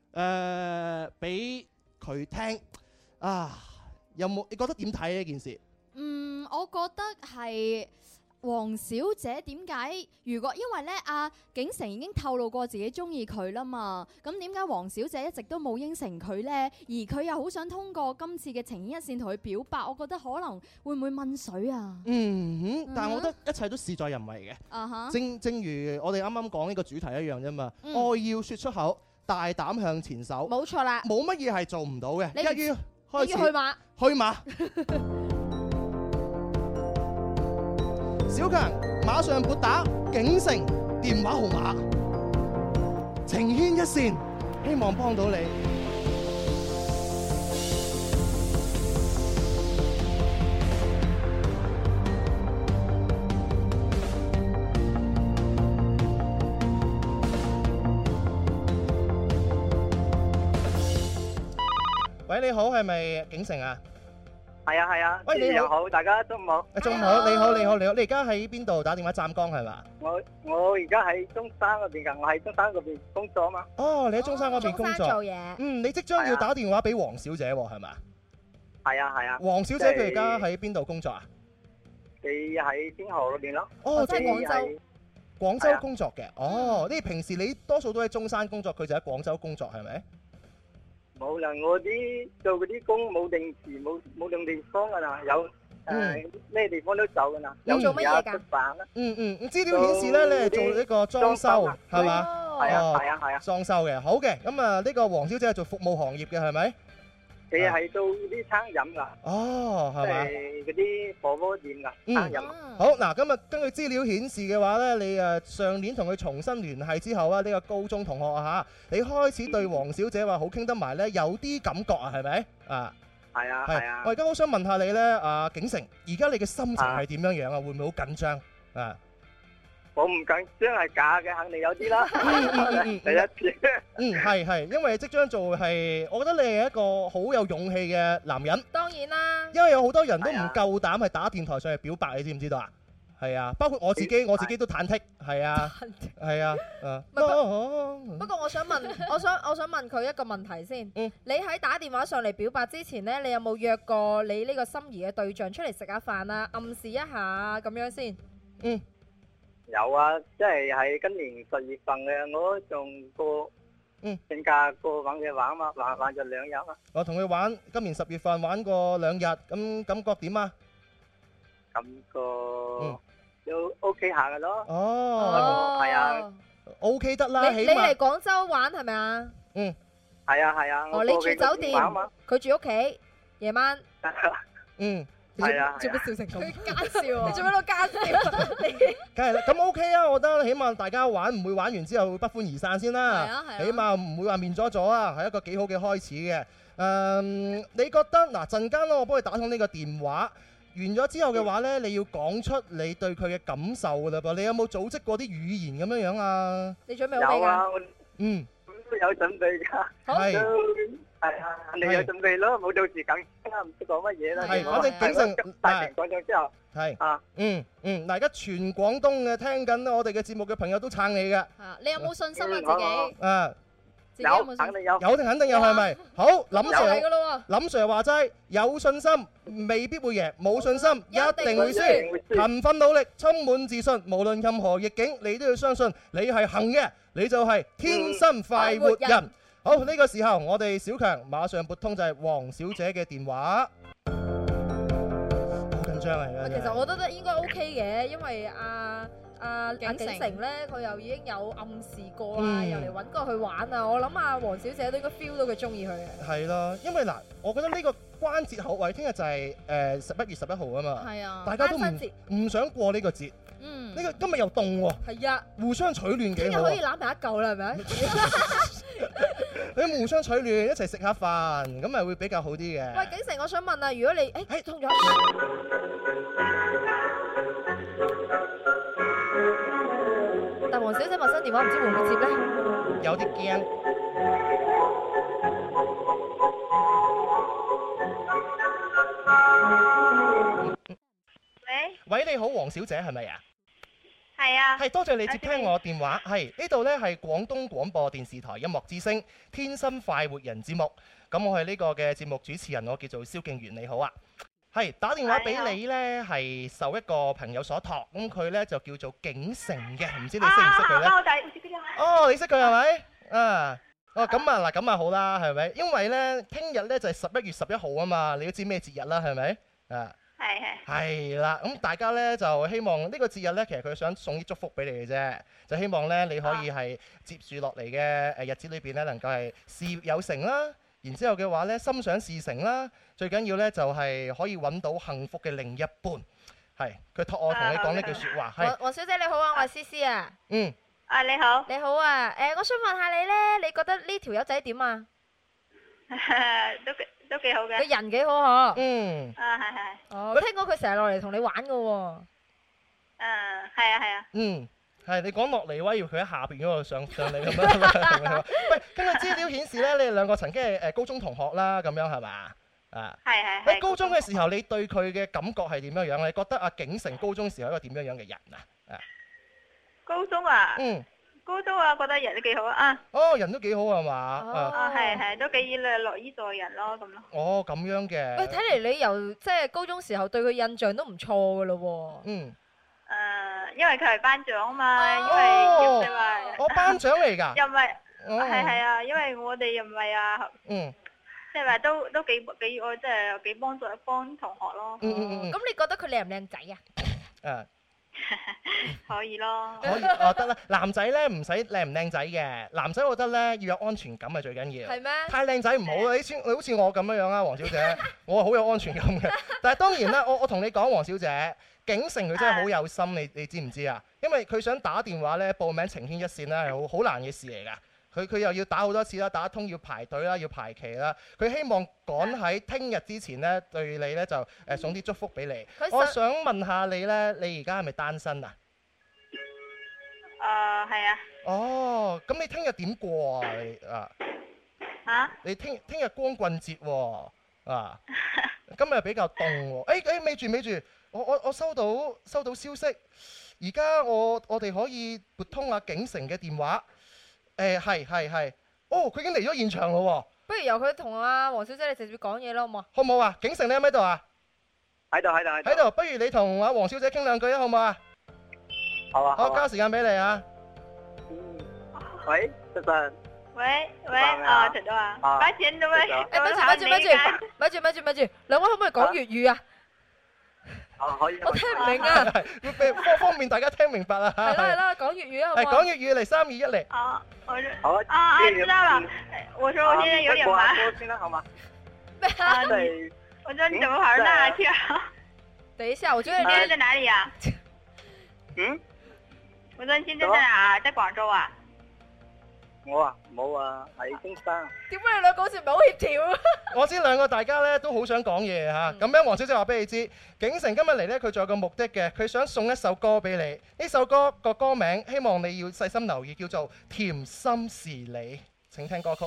俾佢聽。有冇？你覺得點睇呢件事？ 我覺得係。黃小姐點解？因為咧，阿景成已經透露過自己中意佢啦嘛，咁點解黃小姐一直都冇應承佢呢？而佢又好想通過今次嘅情牽一線同佢表白，我覺得可能會唔會問水啊？ 但係我覺得一切都事在人為嘅。正如我哋啱啱講呢個主題一樣啫嘛。愛要説出口，大膽向前走。 冇錯啦， 冇乜嘢係做唔到嘅。一於開始去馬。小強，馬上撥打景成電話號碼，情牽一線，希望幫到你。喂，你好，係咪景成啊？ 係啊， 喂，你好， 大家中午好。 中午好，你好，你而家喺邊度打電話？湛江係嘛？ 我而家喺中山嗰邊㗎，我喺中山嗰邊工作嘛。 哦，你喺中山嗰邊工作。 做嘢。 你即將要打電話俾黃小姐喎，係咪？ 係啊。 黃小姐佢而家喺邊度工作啊？ 佢喺天河嗰邊咯。 哦， 即係廣州。 廣州工作嘅，哦，你平時你多數都喺中山工作，佢就喺廣州工作係咪？ 冇啦，我啲做嗰啲工冇定時冇定地方噶啦，有咩地方都走噶啦。 有做乜嘢㗎？ 食飯啦。 資料顯示咧，你係做呢個裝修係嘛？ 係啊。 裝修嘅，好嘅，咁啊呢個黃小姐係做服務行業嘅係咪？ 佢係做啲餐飲噶。 哦，係嘛？ 嗰啲火鍋店噶餐飲。 好嗱，咁啊根據資料顯示嘅話咧，你上年同佢重新聯繫之後啊，呢個高中同學啊嚇，你開始對黃小姐話好傾得埋咧，有啲感覺啊，係咪啊？ 係啊。 我而家好想問下你咧，阿景成，而家你嘅心情係點樣樣啊？會唔會好緊張啊？ 我唔緊張係假嘅，肯定有啲啦。第一次。 係，因為即將做係，我覺得你係一個好有勇氣嘅男人。 當然啦。 因為有好多人都唔夠膽係打電台上嚟表白，你知唔知道啊？係啊，包括我自己都忐忑。係啊。 不過我想問佢一個問題先。你喺打電話上嚟表白之前呢，你有冇約過你呢個心儀嘅對象出嚟食下飯啊？暗示一下咁樣先。 有啊，即係喺今年10月份嘅，我仲請假過揾佢玩嘛，玩咗2日啊。 我同佢玩，今年10月份玩過2日，咁感覺點啊？ 感覺都 OK 下嘅咯。 哦， 係啊 ，OK 得啦， 你嚟廣州玩係咪啊？ 係啊。 哦，你住酒店，佢住屋企，夜晚。 係啊， 做乜笑成咁？佢奸笑啊！你做乜都奸笑？ 梗係啦，咁 OK 啊！我覺得起碼大家玩唔會玩完之後不歡而散先啦。 係啊， 起碼唔會話面咗咗啊，係一個幾好嘅開始嘅。你覺得嗱陣間咧，我幫你打通呢個電話，完咗之後嘅話咧，你要講出你對佢嘅感受㗎啦噃。你有冇組織過啲語言咁樣樣啊？ 你準備好未㗎？ 都有準備㗎。係啊，你有準備咯，冇到時緊啦，唔知講乜嘢啦。 係，反正景成大庭廣眾之後， 係嗱，而家全廣東嘅聽緊我哋嘅節目嘅朋友都撐你嘅。 你有冇信心啊自己？ 有，肯定有。 有定肯定有係咪？好，林 Sir 話齋，有信心未必會贏，冇信心一定會輸。勤奮努力，充滿自信，無論任何逆境，你都要相信你係行嘅，你就係天生快活人。好，呢個時候我哋小強馬上撥通就係黃小姐嘅電話。好緊張啊！ 其實我覺得應該 OK 嘅，因為阿景成咧，佢又已經有暗示過啦，又嚟揾過去玩啊！我諗阿黃小姐都應該 feel 到佢中意佢嘅。 係咯，因為嗱，我覺得呢個關節後位聽日就係11月11號啊嘛。係啊，大家都唔想過呢個節。呢個今日又凍喎。係啊，互相取暖幾好。聽日可以攬埋一嚿啦，係咪？你互相取暖，一齊食下飯，咁咪會比較好啲嘅。 喂，景成，我想問啊，如果你通咗，但黃小姐陌生電話唔知會唔會接咧？ 有啲驚。喂，你好，黃小姐係咪啊？ 係啊， 係多謝你接聽我電話。係呢度呢係廣東廣播電視台音樂之聲天生快活人節目。咁我係呢個嘅節目主持人，我叫做蕭敬元。你好啊，係打電話俾你呢，係受一個朋友所託。咁佢呢就叫做景成嘅，唔知你識唔識佢呢？哦，你識佢係咪？啊，哦咁啊嗱，咁啊好啦，係咪？因為呢，聽日呢就係11月11號啊嘛，你都知咩節日啦，係咪？啊。係啦，咁大家呢就希望呢個節日呢，其實佢想送啲祝福俾你嘅啫，就希望呢，你可以係接住落嚟嘅日子裏邊呢，能夠係事業有成啦，然之後嘅話呢，心想事成啦，最緊要呢，就係可以揾到幸福嘅另一半。係，佢託我同你講呢句説話。係， 黃小姐你好啊，我係思思啊。 你好。 你好啊，我想問下你呢，你覺得呢條友仔點啊？ 都幾好嘅， 個人幾好嗬。 係。 哦，聽講佢成日落嚟同你玩噶喎。 係啊。 係你講落嚟話，要佢喺下邊嗰度上嚟咁樣。喂，根據資料顯示咧，你哋兩個曾經係高中同學啦，咁樣係嘛？ 係。 喺高中嘅時候，你對佢嘅感覺係點樣樣？你覺得阿景成高中時候係一個點樣樣嘅人啊？ 高中啊？ 高中啊，覺得人都幾好啊。 哦，人都幾好係嘛？ 啊，係都幾樂於助人咯，咁咯。 哦，咁樣嘅。 喂，睇嚟你由即係高中時候對佢印象都唔錯噶咯喎。 嗯。 因為佢係班長啊嘛，因為又唔係話。 我班長嚟㗎。 又唔係。係啊，因為我哋又唔係啊。 嗯。 即係話都幾我即係幾幫同學咯。 咁你覺得佢靚唔靚仔啊？ 可以咯。 可以哦，得啦。男仔咧唔使靚唔靚仔嘅，男仔我覺得咧要有安全感係最緊要。 係咩？ 太靚仔唔好啦，你好似我咁樣啊，黃小姐，我係好有安全感嘅。但係當然啦，我同你講，黃小姐，景城佢真係好有心，你知唔知啊？因為佢想打電話咧報名情牽一線咧係好難嘅事嚟㗎。佢又要打好多次啦，打得通要排隊啦，要排期啦。佢希望趕喺聽日之前咧，對你咧就送啲祝福俾你。我想問下你咧，你而家係咪單身啊？ 係啊。 哦，咁你聽日點過啊？你嚇？ 你聽日光棍節喎啊！今日比較凍喎。咪住，我收到消息，而家我哋可以撥通阿景城嘅電話。係，哦，佢已經嚟咗現場咯喎。 不如由佢同阿黃小姐你直接講嘢啦，好唔好？ 好唔好啊？景城你喺唔喺度啊？ 喺度。 喺度，不如你同阿黃小姐傾兩句啊，好唔好啊？ 好啊。 好，交時間俾你啊。 喂，早晨。 喂，陳總啊。把錢都咪住， 兩位可唔可以講粵語啊？ 可以。 我聽唔明啊！ 方便大家聽明白啊！ 係啦，講粵語啊！ 係講粵語嚟，3、2、1嚟。 好。 知道了。我說我現在有點忙。 先啦，好嗎？ 我說你怎麼跑到那去啊？ 等一下，我覺得你現在在哪裡啊？我說你現在在哪？在廣州啊？ 我冇啊，喺中山。 點解你兩個好似唔係好協調啊？ 我知兩個大家咧都好想講嘢嚇，咁樣黃小姐話俾你知，景城今日嚟咧，佢仲有個目的嘅，佢想送一首歌俾你。呢首歌個歌名，希望你要細心留意，叫做《甜心是你》。請聽歌曲。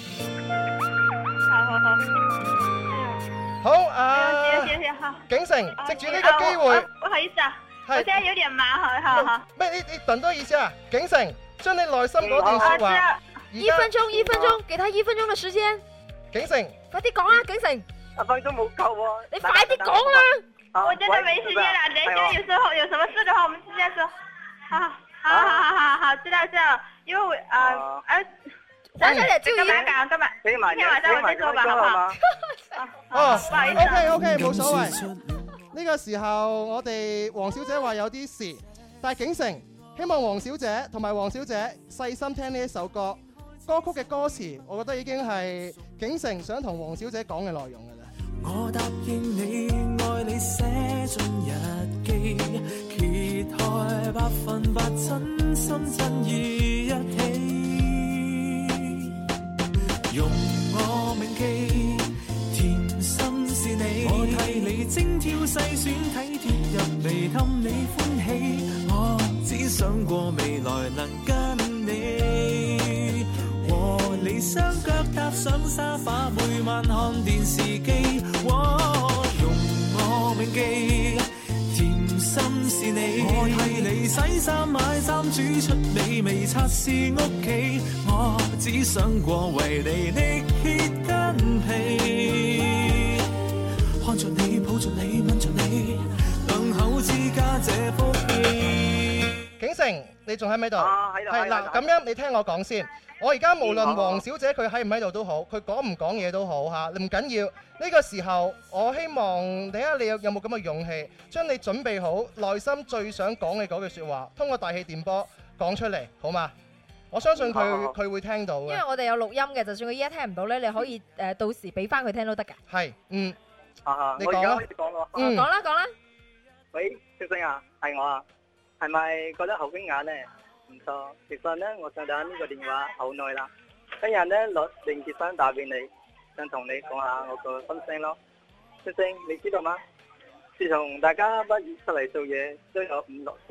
好。好啊。 好。 景城，藉住呢個機會。 不好意思啊，我現在有點忙，好。 咩？你等多意思啊，景城。將你內心嗰段說話 ，1分鐘，給他1分鐘的時間。 景城， 快啲講啦，景城。 1分鐘冇夠喎。 你快啲講啦。 我真的沒時間啦，等一下有時候有什麼事的話，我們直接說。好，知道，因為我咱這裡就幹嘛？今天晚上我先說吧，好不好？ 哦， 不好意思。 OK，冇所謂。呢個時候我哋黃小姐話有啲事，但係景城。希望黃小姐同埋黃小姐細心聽呢一首歌，歌曲嘅歌詞，我覺得已經係景城想同黃小姐講嘅內容㗎啦。 我答應你，愛你寫進日記，揭開100%真心真意一起，用我銘記，甜心是你，我替你精挑細選，體貼入微氹你歡喜。只想過未來能跟你和你雙腳踏上沙發，每晚看電視機，用我銘記，甜心是你，我替你洗衫買衫，煮出美味擦拭屋企，我只想過為你力竭筋疲，看着你抱着你吻着你，兩口之家這福氣。 景城，你仲喺唔喺度？ 喺度。 係啦，咁樣你聽我講先。我而家無論黃小姐佢喺唔喺度都好，佢講唔講嘢都好嚇，唔緊要。呢個時候，我希望睇下你有冇咁嘅勇氣，將你準備好內心最想講嘅嗰句説話，通過大氣電波講出嚟，好嗎？我相信佢會聽到嘅。 因為我哋有錄音嘅，就算佢依家聽唔到咧，你可以到時俾翻佢聽都得㗎。 係，你講啦。 講啦。 喂，小星啊，係我啊。係咪覺得好驚訝呢？唔錯，其實呢，我想打呢個電話好耐啦。今日呢，攞連結翻打俾你，想同你講下我個心聲咯。星星，你知道嗎？自從大家畢業出嚟做嘢，都有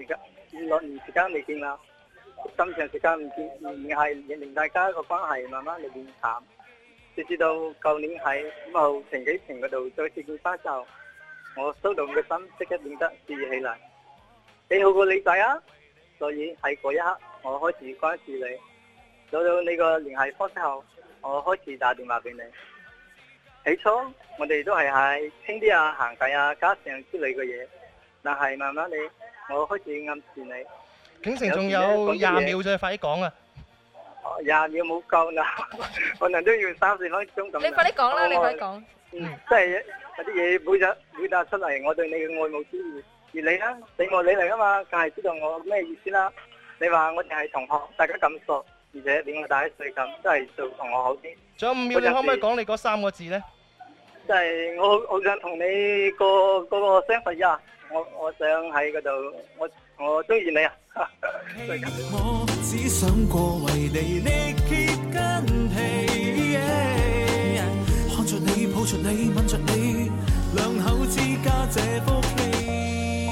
5、6年時間未見啦。咁長時間唔見，而係令大家個關係慢慢嚟變淡。直至到舊年喺5號停機坪嗰度再次見翻就，我騷動嘅心即刻變得熾熱起嚟。你好過你仔啊！所以喺嗰一刻， 我開始關注你，攞到你個聯繫方式後，我開始打電話俾你。起初我哋都係喺傾啲啊、行偈啊、家常之類嘅嘢，但係慢慢地我開始暗示你。 景成仲有20秒啫，快啲講啊 ！20秒冇夠啦，可能都要30分鐘咁。 你快啲講啦，你快啲講。 即係有啲嘢表達出嚟，我對你嘅愛慕之意。而你咧，你我你嚟噶嘛，梗係知道我咩意思啦。你話我哋係同學，大家咁熟，而且比我大一歲咁，都係做同學好啲。 仲有5秒，你可唔可以講你嗰3個字咧？ 即係我好想同你個相份啊！我想喺嗰度，我中意你啊！ 我只想過為你力竭筋疲，看着你，抱着你，吻着你，兩口之家這福氣。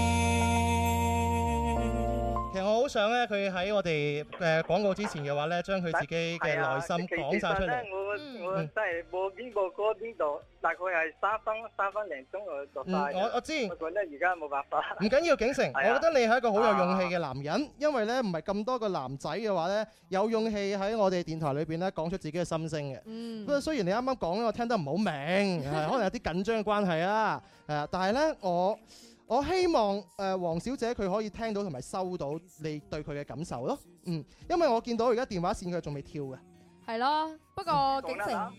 其實我好想咧，佢喺我哋廣告之前嘅話咧，將佢自己嘅內心講晒出嚟。 我真係播邊播歌邊度，大概係3分零鐘我就快。 我知。 我覺得而家冇辦法。 唔緊要，景成，我覺得你係一個好有勇氣嘅男人，因為咧唔係咁多個男仔嘅話咧，有勇氣喺我哋電台裏邊咧講出自己嘅心聲嘅。不過雖然你啱啱講咧，我聽得唔好明，可能有啲緊張嘅關係啊。但係咧我希望黃小姐佢可以聽到同埋收到你對佢嘅感受咯。因為我見到而家電話線佢仲未跳嘅。 係咯，不過景成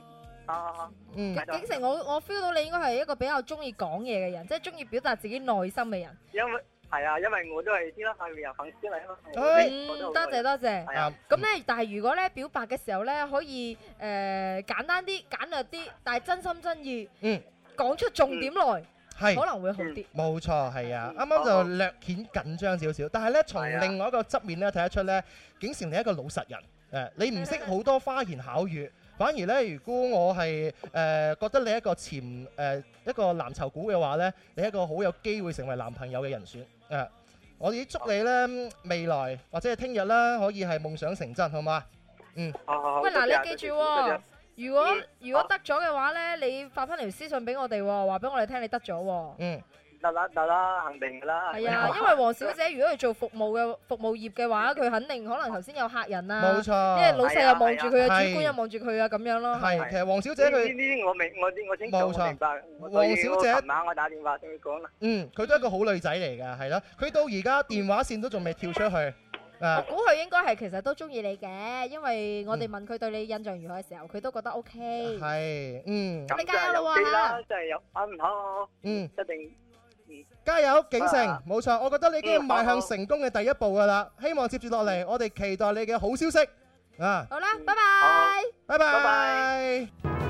景成，我 feel 到你應該係一個比較中意講嘢嘅人，即係中意表達自己內心嘅人。 因為我都係知啦，係人粉絲嚟啊嘛。 多謝。咁咧，但係如果咧表白嘅時候咧，可以簡單啲、簡略啲，但係真心真意，講出重點來。可能會好啲。冇錯，係啊，啱啱就略顯緊張少少，但係咧從另外一個側面咧睇得出咧，景成你係一個老實人，你唔識好多花言巧語，反而咧如果我係覺得你一個一個藍籌股嘅話咧，你係一個好有機會成為男朋友嘅人選。我哋祝你咧未來或者係聽日啦，可以係夢想成真，好嘛？喂，嗱，你記住喎。如果得咗嘅話咧，你發翻條私信俾我哋喎，話俾我哋聽你得咗喎。得啦，肯定噶啦。係啊，因為黃小姐如果係做服務業嘅話，佢肯定可能頭先有客人啊。冇錯。因為老細又望住佢啊，主管又望住佢啊，咁樣咯。係，其實黃小姐佢呢啲我明，我清楚。冇錯。黃小姐，琴晚我打電話同佢講啦。佢都係一個好女仔嚟㗎，係咯。佢到而家電話線都仲未跳出去。我估佢應該係其實都中意你嘅，因為我哋問佢對你印象如何嘅時候，佢都覺得 OK。係，咁你加油啦喎嚇！真係有，好，一定，加油，景成，冇錯，我覺得你已經邁向成功嘅第一步㗎啦。希望接住落嚟，我哋期待你嘅好消息啊！好啦，拜拜，拜拜。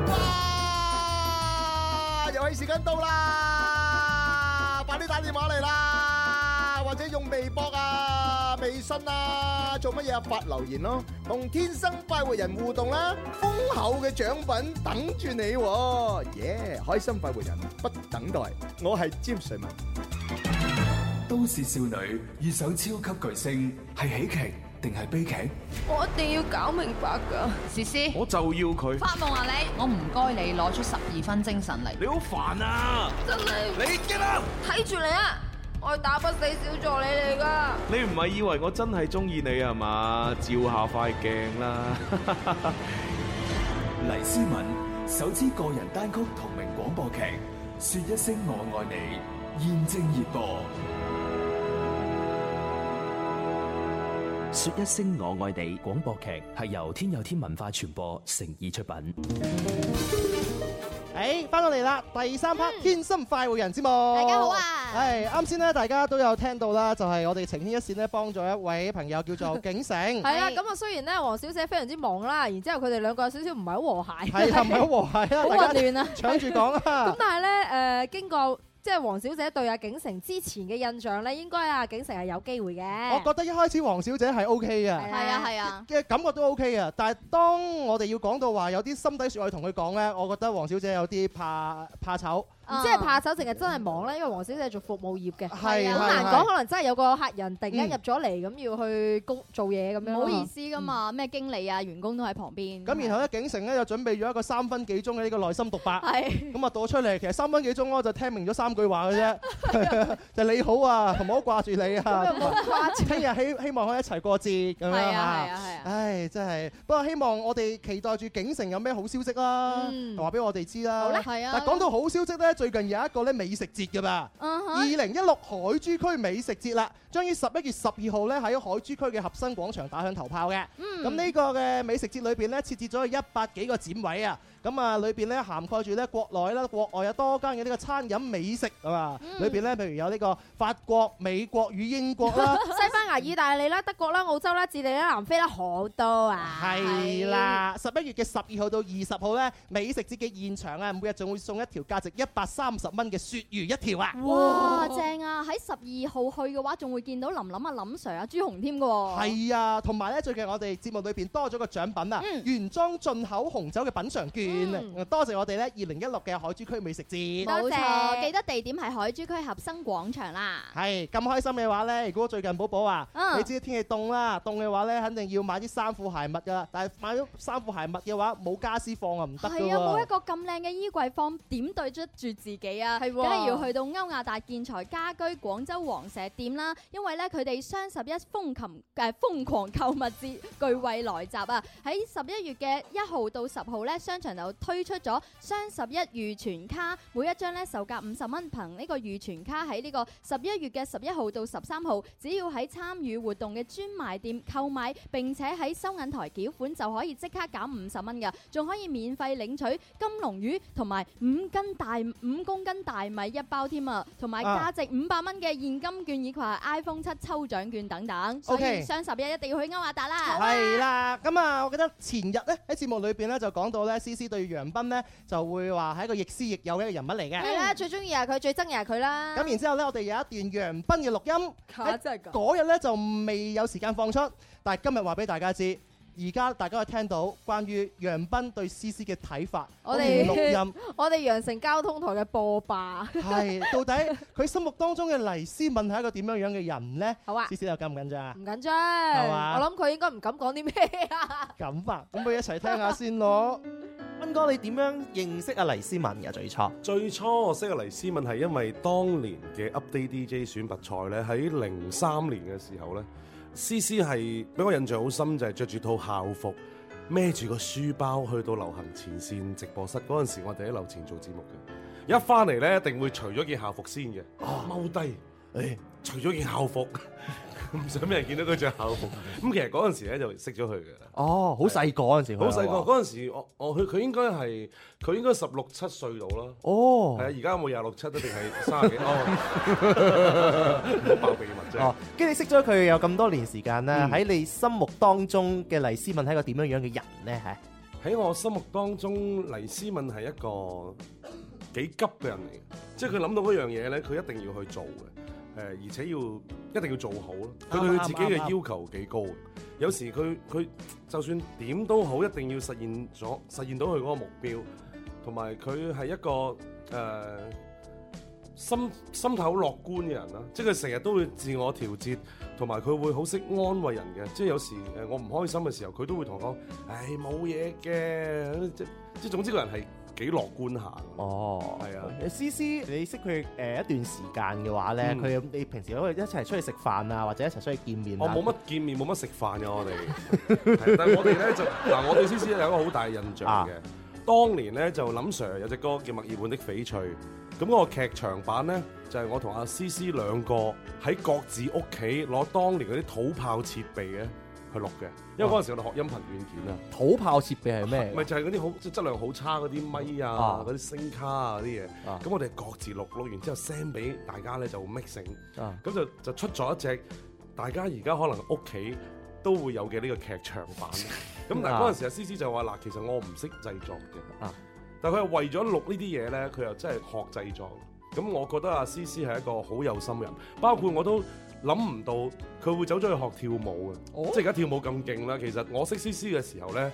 哇！遊戲時間到啦，快啲打電話嚟啦，或者用微博啊、微信啊，做乜嘢啊？發留言咯，同天生快活人互動啦，豐厚嘅獎品等住你喎！耶！開心快活人不等待，我係詹瑞文。 都市少女遇上超級巨星，係喜劇定係悲劇？ 我一定要搞明白㗎， 詩詩， 我就要佢發夢啊你！我唔該你攞出12分精神嚟。 你好煩啊！ 真係你激啦！ 睇住你啊！我係打不死小助理嚟㗎。 你唔係以為我真係中意你啊嘛？照下塊鏡啦！ 黎思敏首支個人單曲同名廣播劇《說一聲我愛你》現正熱播。 說一聲我愛你廣播劇係由天有天文化傳播誠意出品。 翻到嚟啦，第3 part 天生快活人節目。大家好啊！啱先咧，大家都有聽到啦，就係我哋情牽一線咧，幫咗一位朋友叫做景成。係啊，咁啊雖然咧黃小姐非常之忙啦，然之後佢哋兩個有少少唔係好和諧。係啊，唔係好和諧啊，好混亂啊，搶住講啊。咁但係咧經過即係黃小姐對阿景成之前嘅印象咧，應該阿景成係有機會嘅。我覺得一開始黃小姐係 OK 嘅，係啊嘅感覺都 OK 嘅。但係當我哋要講到話有啲心底説話同佢講咧，我覺得黃小姐有啲怕醜。 唔知係怕手定係真係忙咧？因為黃小姐係做服務業嘅， 係好難講，可能真係有個客人突然間入咗嚟咁要去做嘢咁樣。 唔好意思噶嘛，咩經理啊、員工都喺旁邊。 咁然後咧，景城咧就準備咗一個3分幾鐘嘅呢個內心獨白。係。咁啊讀出嚟，其實3分幾鐘我就聽明咗3句話嘅啫，就你好啊，同埋好掛住你啊。聽日希望可以一齊過節咁樣嚇。係啊。唉，真係。不過希望我哋期待住景城有咩好消息啦，話俾我哋知啦。好啦，係啊。但講到好消息咧，最近有一個咧美食節㗎嘛。2016海珠區美食節啦，將於11月12號咧喺海珠區嘅合生廣場打響頭炮嘅。咁呢個嘅美食節裏邊咧設置咗100幾個展位啊。咁啊，裏邊咧涵蓋住咧國內啦、國外有多間嘅呢個餐飲美食啊嘛。裏邊咧，譬如有呢個法國、美國與英國啦、 西班牙、意大利啦、德國啦、澳洲啦、智利啦、南非啦，好多啊。 係啦，11月嘅12號到20號咧，美食節嘅現場啊，每日仲會送一條價值130蚊嘅鱈魚一條啊！ 哇，正啊！喺12號去嘅話，仲會見到林林啊、林 Sir 啊、朱紅添㗎喎。 係啊，同埋咧，最近我哋節目裏邊多咗個獎品啊，原裝進口紅酒嘅品嚐券。多謝我哋咧2016嘅海珠區美食節， 冇錯，記得地點係海珠區合生廣場啦。 係咁開心嘅話咧，如果最近寶寶啊，你知天氣凍啦，凍嘅話咧，肯定要買啲衫褲鞋襪噶啦。但係買咗衫褲鞋襪嘅話，冇家私放啊唔得㗎喎。 係啊，冇一個咁靚嘅衣櫃放，點對得住自己啊？係，梗係要去到歐亞達建材家居廣州黃石店啦。因為咧，佢哋雙11瘋狂購物節巨惠來襲啊！喺11月嘅1號到10號咧，商場就推出咗雙11預存卡，每一張咧售價50蚊，憑呢個預存卡喺呢個11月嘅11號到13號，只要喺參與活動嘅專賣店購買，並且喺收銀台繳款就可以即刻減50蚊㗎，仲可以免費領取金龍魚同埋5公斤大米一包添啊，同埋價值500蚊嘅現金券以及 iPhone 7抽獎券等等，所以雙11一定要去歐亞達啦。 係啦，咁啊，我記得前日咧喺節目裏邊咧就講到咧，CC 對楊斌咧就會話係一個亦師亦友嘅一個人物嚟嘅。 係啦，最中意係佢，最憎又係佢啦。 咁然之後咧，我哋有一段楊斌嘅錄音， 真係㗎。 嗰日咧就未有時間放出，但係今日話俾大家知。而家大家可以聽到關於楊斌對思思嘅睇法，我哋錄音， 我哋羊城交通台嘅播霸。 係到底佢心目當中嘅黎思敏係一個點樣樣嘅人呢？ 好啊， 思思又緊唔緊張啊？ 唔緊張， 係嘛？ 我諗佢應該唔敢講啲咩啊。 咁啊，咁不如一齊聽下先咯。斌哥，你點樣認識阿黎思敏嘅最初我識阿黎思敏係因為當年嘅 Update DJ 選拔賽咧，喺03年嘅時候咧。思思係俾我印象好深，就係着住套校服，孭住個書包去到流行前線直播室。嗰陣時我哋喺樓前做節目嘅，一翻嚟咧一定會除咗件校服先嘅，踎低，除咗件校服，唔想俾人見到佢着校服。咁其實嗰陣時咧就識咗佢嘅。 哦，好細個嗰陣時， 好細個嗰陣時，佢應該16、17歲到啦。 哦， 係啊，而家有冇26、7定係30幾？哦，唔好爆秘密啫。 哦，跟住你識咗佢有咁多年時間啦，喺你心目當中嘅黎思敏係一個點樣樣嘅人咧？ 喺我心目當中，黎思敏係一個幾急嘅人嚟嘅，即係佢諗到嗰樣嘢咧，佢一定要去做嘅。而且一定要做好咯。佢對佢自己嘅要求幾高嘅。有時佢就算點都好，一定要實現到佢嗰個目標。同埋佢係一個心態好樂觀嘅人啦。即係佢成日都會自我調節，同埋佢會好識安慰人嘅。即係有時我唔開心嘅時候，佢都會同我講：唉，冇嘢嘅。即係總之個人係幾樂觀下。 哦，係啊。思思，你識佢一段時間嘅話咧，你平時可以一齊出去食飯啊，或者一齊出去見面。 我冇乜見面，冇乜食飯嘅我哋。但係我哋咧就嗱，我對思思有一個好大印象嘅。當年咧就林 Sir 有隻歌叫《墨爾本的翡翠》，咁嗰個劇場版咧就係我同阿思思兩個喺各自屋企攞當年嗰啲土炮設備嘅去錄嘅，因為嗰陣時我哋學音頻軟件啊。 土炮設備係咩？ 咪就係嗰啲好即係質量好差嗰啲咪啊，嗰啲聲卡啊嗰啲嘢。咁我哋各自錄完之後 send 俾大家咧就 mixing，咁就出咗一隻大家而家可能屋企都會有嘅呢個劇場版。咁但係嗰陣時阿思思就話嗱，其實我唔識製作嘅，但係佢又為咗錄呢啲嘢咧，佢又真係學製作。咁我覺得阿思思係一個好有心人，包括我都諗唔到佢會走咗去學跳舞嘅，即係而家跳舞咁勁啦。其實我識思思嘅時候咧，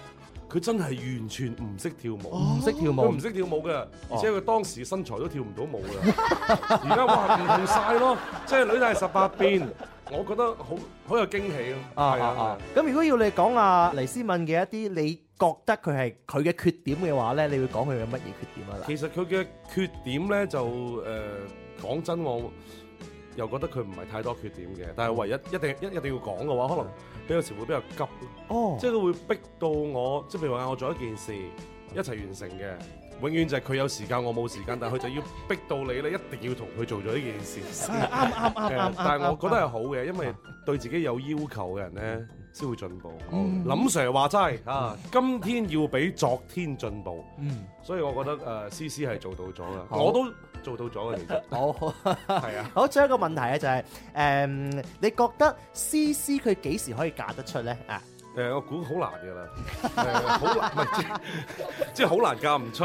佢真係完全唔識跳舞， 唔識跳舞， 佢唔識跳舞嘅，而且佢當時身材都跳唔到舞嘅。而家哇唔同晒咯，即係女大18變，我覺得好有驚喜咯。係啊， 咁如果要你講黎思敏嘅一啲你覺得佢係佢嘅缺點嘅話咧，你會講佢有乜嘢缺點啊？ 其實佢嘅缺點咧就講真我又覺得佢唔係太多缺點嘅，但係唯一一定要講嘅話，可能有時會比較急咯。即係佢會逼到我，即係譬如話我做一件事一齊完成嘅，永遠就係佢有時間我冇時間，但係佢就要逼到你咧，一定要同佢做咗呢件事。啱。但係我覺得係好嘅，因為對自己有要求嘅人咧，先會進步。林 Sir 話齋今天要比昨天進步。所以我覺得思思係做到咗嘅，我都做到咗嘅。其實好係啊。 好，最後一個問題咧就係你覺得思思佢幾時可以嫁得出咧？ 我估好難㗎啦，好難，唔係即係好難嫁唔出。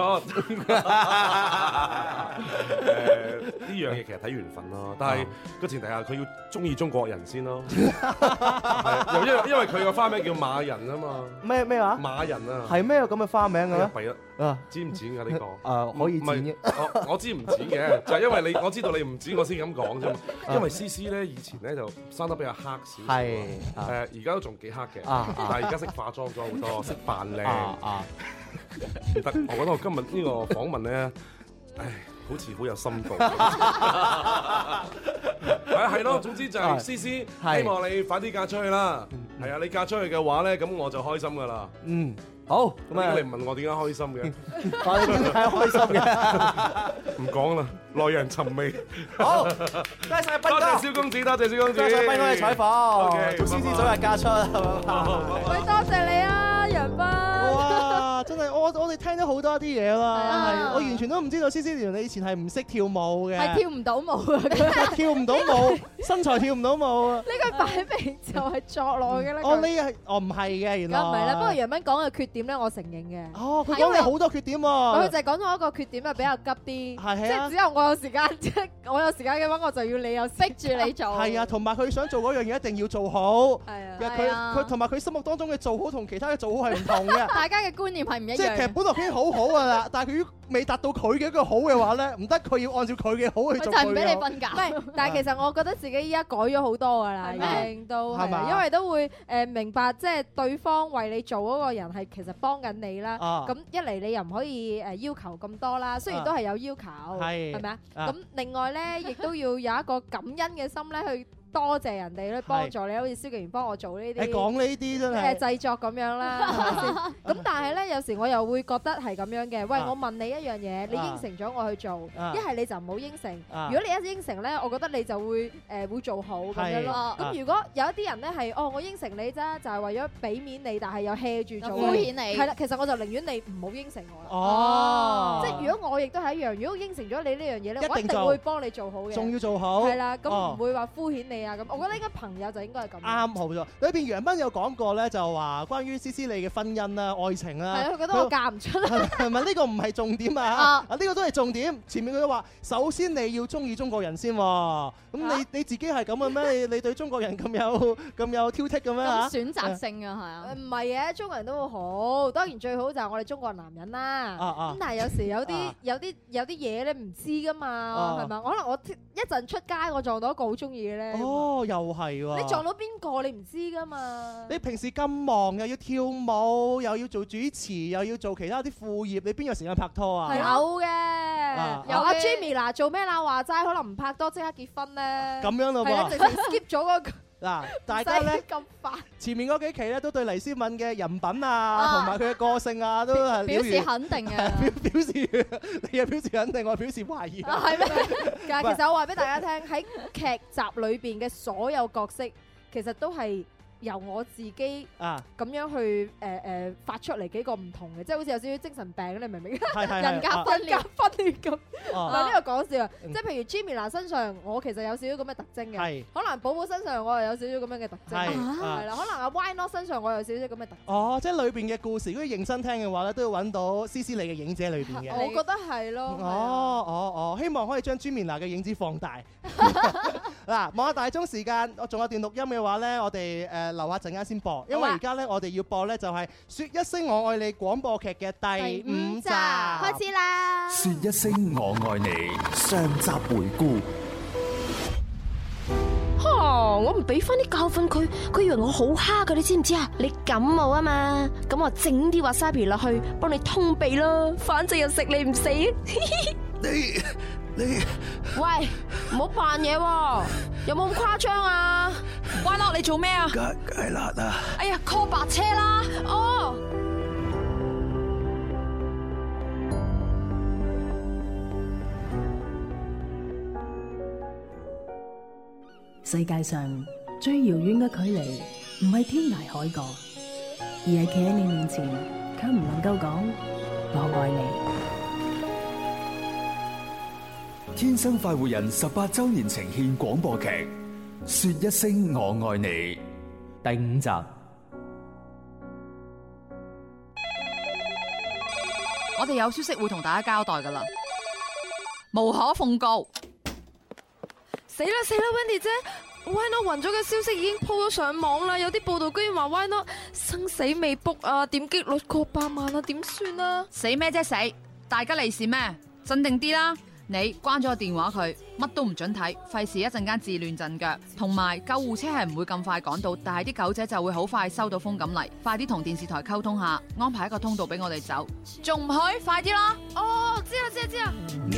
呢樣嘢其實睇緣分咯，但係個前提下佢要中意中國人先咯。又因為佢個花名叫馬人啊嘛。咩話？馬人啊。係咩有咁嘅花名嘅咧？係啊，剪唔剪㗎呢個？可以剪嘅。我知唔剪嘅，就係因為我知道你唔剪，我先咁講啫嘛。因為思思咧以前咧就生得比較黑少少，係而家都仲幾黑嘅。但係而家識化妝咗好多，識扮靚。唔得，我覺得我今日呢個訪問咧，好似好有深度。係咯，總之就係思思，希望你快啲嫁出去啦。係啊，你嫁出去嘅話咧，咁我就開心噶啦。好，咁啊，你唔問我點解開心嘅？ 我哋點解開心嘅？ 唔講啦，耐人尋味。 好，多謝斌哥， 多謝蕭公子，多謝蕭公子， 多謝斌哥嘅採訪。祝思思早日嫁出， 喂，多謝你啊，楊斌。 哇，真係我哋聽咗好多啲嘢啦，我完全都唔知道思思原來你以前係唔識跳舞嘅， 係跳唔到舞啊， 跳唔到舞，身材跳唔到舞啊。 呢個擺明就係作落嘅啦。 唔係嘅，原來。 梗唔係啦，不過楊斌講嘅缺點咧，我承認嘅。 佢講你好多缺點喎。 佢就係講咗一個缺點係比較急啲，即係只有我有時間，即係我有時間嘅話，我就要你有逼住你做。 係啊，同埋佢想做嗰樣嘢一定要做好。 係啊。 佢同埋佢心目當中嘅做好同其他嘅做好係唔同嘅。 大家嘅觀念係唔一樣。 即係其實本來已經好好㗎啦，但係佢未達到佢嘅一個好嘅話咧，唔得，佢要按照佢嘅好去做。 就係唔俾你瞓覺。 唔係，但係其實我覺得自己依家改咗好多㗎啦，已經都係，因為都會明白，即係對方為你做嗰個人係其實幫緊你啦。咁一嚟你又唔可以要求咁多啦，雖然都係有要求，係咪啊？咁另外咧，亦都要有一個感恩嘅心咧去。多謝人哋咧幫助你，好似蕭敬元幫我做呢啲， 你講呢啲真係製作咁樣啦，係咪先？咁但係咧，有時我又會覺得係咁樣嘅。喂，我問你一樣嘢，你應承咗我去做，一係你就唔好應承。如果你一應承咧，我覺得你就會做好咁樣咯。咁如果有一啲人咧係我應承你啫，就係為咗俾面你，但係又 hea 住做， 敷衍你。 係啦，其實我就寧願你唔好應承我啦。即係如果我亦都係一樣，如果應承咗你呢樣嘢咧，我一定會幫你做好嘅。 仲要做好。 係啦，咁唔會話敷衍你。咁，我覺得應該朋友就應該係咁。 啱，好咗。裏邊楊斌有講過咧，就話關於思思你嘅婚姻啦、愛情啦。 係啊，佢覺得我嫁唔出啦。 係咪呢個唔係重點啊？呢個都係重點。前面佢都話，首先你要中意中國人先喎。咁你自己係咁嘅咩？你對中國人咁有挑剔嘅咩？ 咁選擇性啊，係啊。 唔係嘅，中國人都會好。當然最好就係我哋中國男人啦。咁但係有時有啲嘢咧唔知㗎嘛，係咪？可能我一陣出街我撞到一個好中意嘅咧。 哦，又係喎！ 你撞到邊個你唔知㗎嘛？ 你平時咁忙，又要跳舞，又要做主持，又要做其他啲副業，你邊有時間拍拖啊？ 有嘅，有阿 Jimmy 嗱，做咩啦？話齋可能唔拍拖即刻結婚咧。 咁樣咯喎， 係啊，直情 skip 咗嗰個。 嗱，大家咧咁快， 前面嗰幾期咧都對黎思敏嘅人品啊，同埋佢嘅個性啊，都係表示肯定嘅。 表示你又表示肯定，我表示懷疑。 係咩？但係其實我話俾大家聽，喺劇集裏邊嘅所有角色，其實都係由我自己咁樣去發出嚟幾個唔同嘅，即係好似有少少精神病，你明唔明？人格分裂咁。嗱，呢個講笑啊，即係譬如 Jimmy 身上，我其實有少少咁嘅特徵嘅。可能寶寶身上我又有少少咁樣嘅特徵。係啦，可能阿 Why Not 身上我有少少咁嘅特徵。哦， 即係裏邊嘅故事，如果認真聽嘅話咧，都要揾到思思你嘅影子喺裏邊嘅。 我覺得係咯。 哦，希望可以將 Jimmy 嘅影子放大。 嗱，望下大鐘時間，我仲有段錄音嘅話咧，我哋留下陣間先播，因為而家咧我哋要播咧就係說一聲我愛你廣播劇嘅第5集， 開始啦！ 說一聲我愛你上集回顧。 我唔俾翻啲教訓佢，佢以為我好蝦噶，你知唔知啊？你感冒啊嘛，咁我整啲 wasabi 落去，幫你通鼻咯，反正又食你唔死。 你， 喂，唔好扮嘢喎，有冇咁誇張啊？ 歪樂，你做咩啊？ 芥辣啊！ 哎呀 ，call 白車啦！ 哦。 世界上最遙遠嘅距離，唔係天涯海角，而係企喺你面前，卻唔能夠講我愛你。天生快活人18周年呈獻廣播劇《說一聲我愛你》 第5集。 我哋有消息會同大家交代噶啦，無可奉告。 死啦，Wendy 姐 ，Why Not 暈咗嘅消息已經鋪咗上網啦，有啲報道居然話 Why Not 生死未卜啊，點擊率過100萬啊，點算啊？ 死咩啫死？大吉利是咩？鎮定啲啦，你關咗個電話佢，乜都唔准睇，費事一陣間自亂陣腳。同埋救護車係唔會咁快趕到，但係啲狗仔就會好快收到風咁嚟，快啲同電視台溝通下，安排一個通道俾我哋走。仲唔去？快啲啦！ 哦，知啦。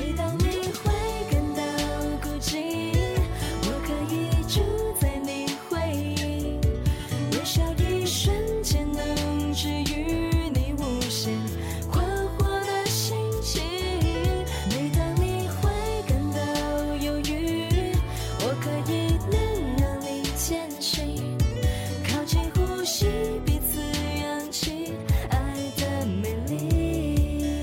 住在你回憶，微笑一瞬間能治癒你無限困惑的心情。每當你會感到憂鬱，我可以能讓你前行，靠近呼吸，彼此氧氣，愛的美麗。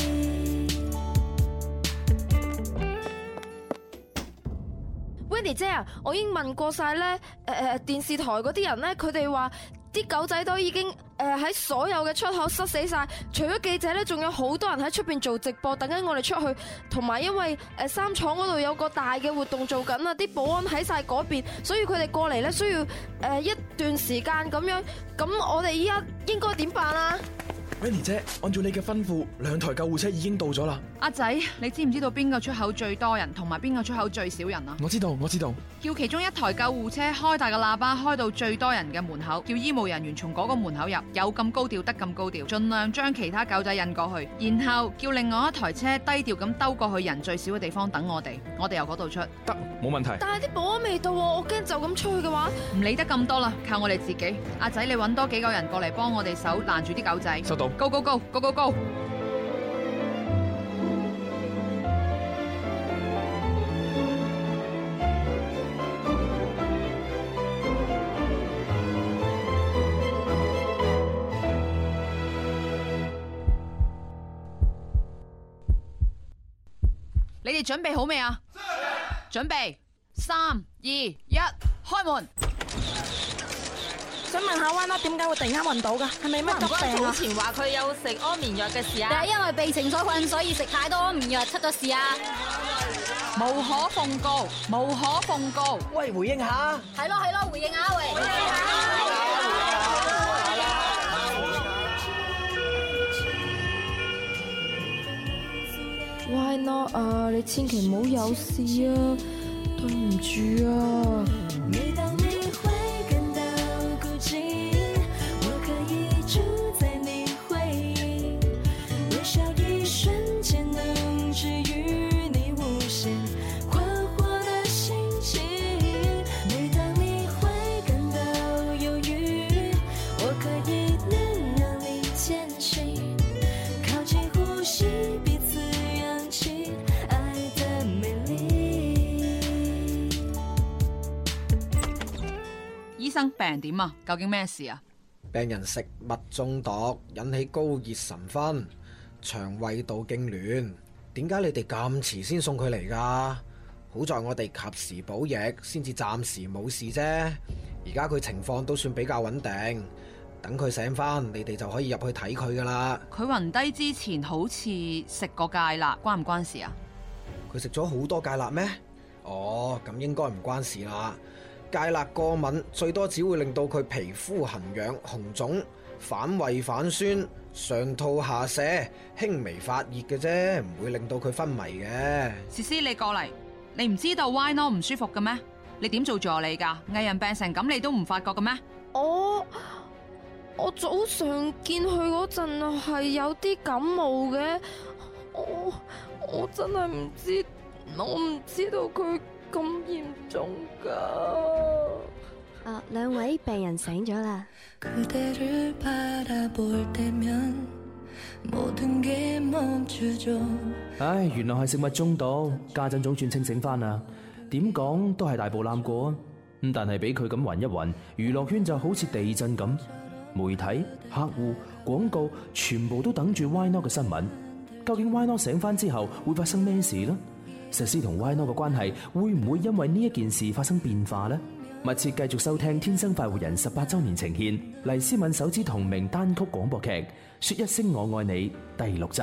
Wendy 姐啊，我已經問過晒咧，電視台嗰啲人咧，佢哋話啲狗仔都已經喺所有嘅出口塞死晒，除咗記者咧，仲有好多人喺出邊做直播，等緊我哋出去。同埋因為三廠嗰度有個大嘅活動做緊啊，啲保安喺晒嗰邊，所以佢哋過嚟咧需要一段時間咁樣。咁我哋依家應該點辦啊 ？Wendy 姐，按照你嘅吩咐，2台救護車已經到咗啦。 阿仔，你知唔知道邊個出口最多人，同埋邊個出口最少人啊？ 我知道。 叫其中1台救護車開大個喇叭，開到最多人嘅門口，叫醫務人員從嗰個門口入，有咁高調得咁高調，盡量將其他狗仔引過去，然後叫另外1台車低調咁兜過去人最少嘅地方等我哋由嗰度出。 得，冇問題。 但係啲保安未到，我驚就咁出去嘅話， 唔理得咁多啦，靠我哋自己。阿仔，你揾多幾個人過嚟幫我哋手攔住啲狗仔。 收到。 Go go go go go go！你哋準備好未啊？準備，3、2、1，開門。 想問下 Why Not 點解會突然間暈倒㗎？係咪乜急病啊？ 早前話佢有食安眠藥嘅事啊？ 定係因為被情所困，所以食太多安眠藥出咗事啊？ 無可奉告，無可奉告。 喂，回應下。 係咯，回應下喂。 Why Not 啊，你千祈唔好有事啊，對唔住啊。 每當你會感到孤寂，我可以住在你回憶，微笑一瞬間能治癒你無限困惑的心情。每當你會感到憂鬱，我可以能讓你前行，靠近呼吸，彼此氧氣，愛的美麗。 醫生，病人點啊？究竟咩事啊？ 病人食物中毒，引起高熱神昏，腸胃道痙攣。點解你哋咁遲先送佢嚟㗎？好在我哋及時補液，先至暫時冇事啫。而家佢情況都算比較穩定，等佢醒返，你哋就可以入去睇佢㗎啦。 佢暈低之前好似食過芥辣，關唔關事啊？ 佢食咗好多芥辣咩？ 哦，咁應該唔關事啦。芥辣過敏最多只會令到佢皮膚痕癢、紅腫、反胃反酸、上吐下瀉、輕微發熱嘅啫，唔會令到佢昏迷嘅。 思思，你過嚟，你唔知道 Why Not 唔舒服嘅咩？你點做助理㗎？藝人病成咁，你都唔發覺嘅咩？ 我早上見佢嗰陣係有啲感冒嘅，我真係唔知，我唔知道佢咁嚴重㗎。 兩位病人醒咗啦。 唉，原來係食物中毒，家陣總算清醒翻啦。點講都係大步攬過啊！咁但係俾佢咁暈一暈，娛樂圈就好似地震咁，媒體、客戶、廣告全部都等住 Why Not 嘅新聞。究竟 Why Not 醒翻之後會發生咩事呢？石獅同 Why Not 嘅關係會唔會因為呢一件事發生變化呢？密切繼續收聽《天生快活人》18週年呈獻黎思敏首支同名單曲廣播劇《說一聲我愛你》第6集。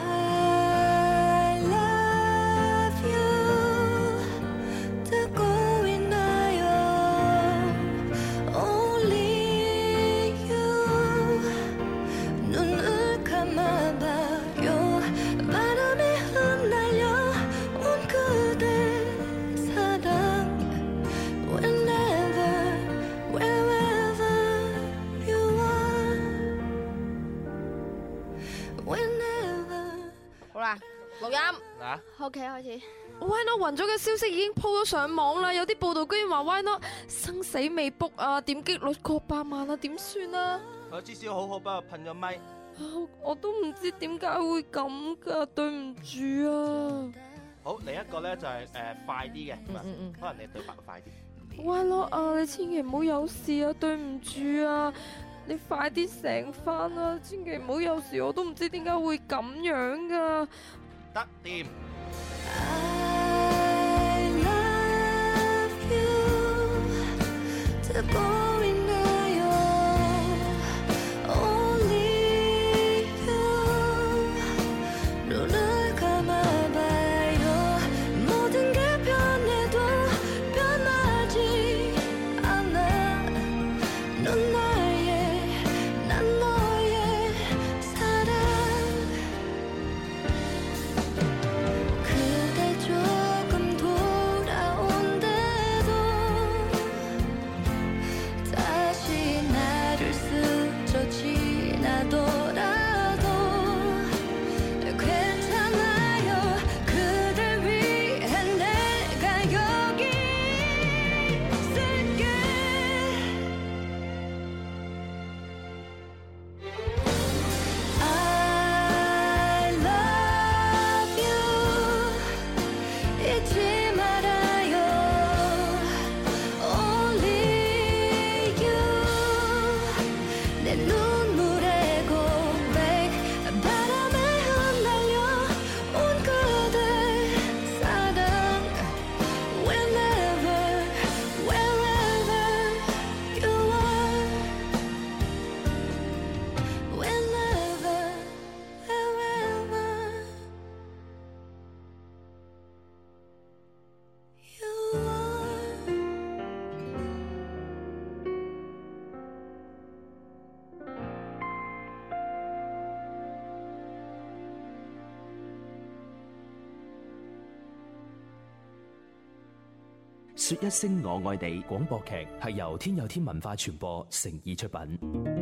錄音 ，OK 開始。 Why Not 暈咗嘅消息已經鋪咗上網啦，有啲報道居然話 Why Not 生死未卜啊，點擊率過100萬啊，點算啊？ 我至少好好幫我噴咗咪。 我都唔知點解會咁噶，對唔住啊。 好，另一個咧就係快啲嘅，可能你對白快啲。 Why Not 啊，你千祈唔好有事啊，對唔住啊。你快啲醒翻啦！千祈唔好有事，我都唔知點解會咁樣噶。 得掂。 說一聲我愛你廣播劇係由天有天文化傳播誠意出品。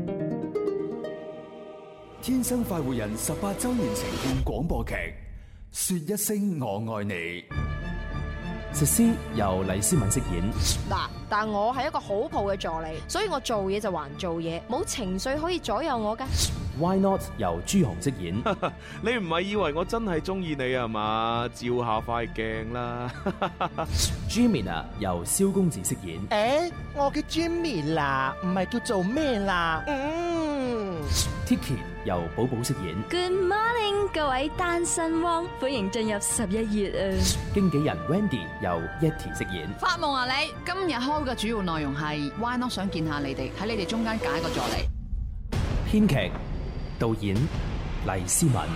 天生快活人18週年呈獻廣播劇《說一聲我愛你》。 石獅由黎思敏飾演。 嗱，但我係一個好抱嘅助理，所以我做嘢就還做嘢，冇情緒可以左右我噶。 Why Not 由朱紅飾演。 你唔係以為我真係中意你啊嘛？照下塊鏡啦。 Jimmy 由蕭公子飾演。 我叫 Jimmy 啦，唔係叫做咩啦。 Tiki 由寶寶飾演。 Good morning， 各位單身汪，歡迎進入11月啊！ 經紀人 Wendy 由 Yeti 飾演。 發夢啊你！今日開嘅主要內容係 Why Not 想見下你哋，喺你哋中間揀一個助理。 編劇、導演黎思敏。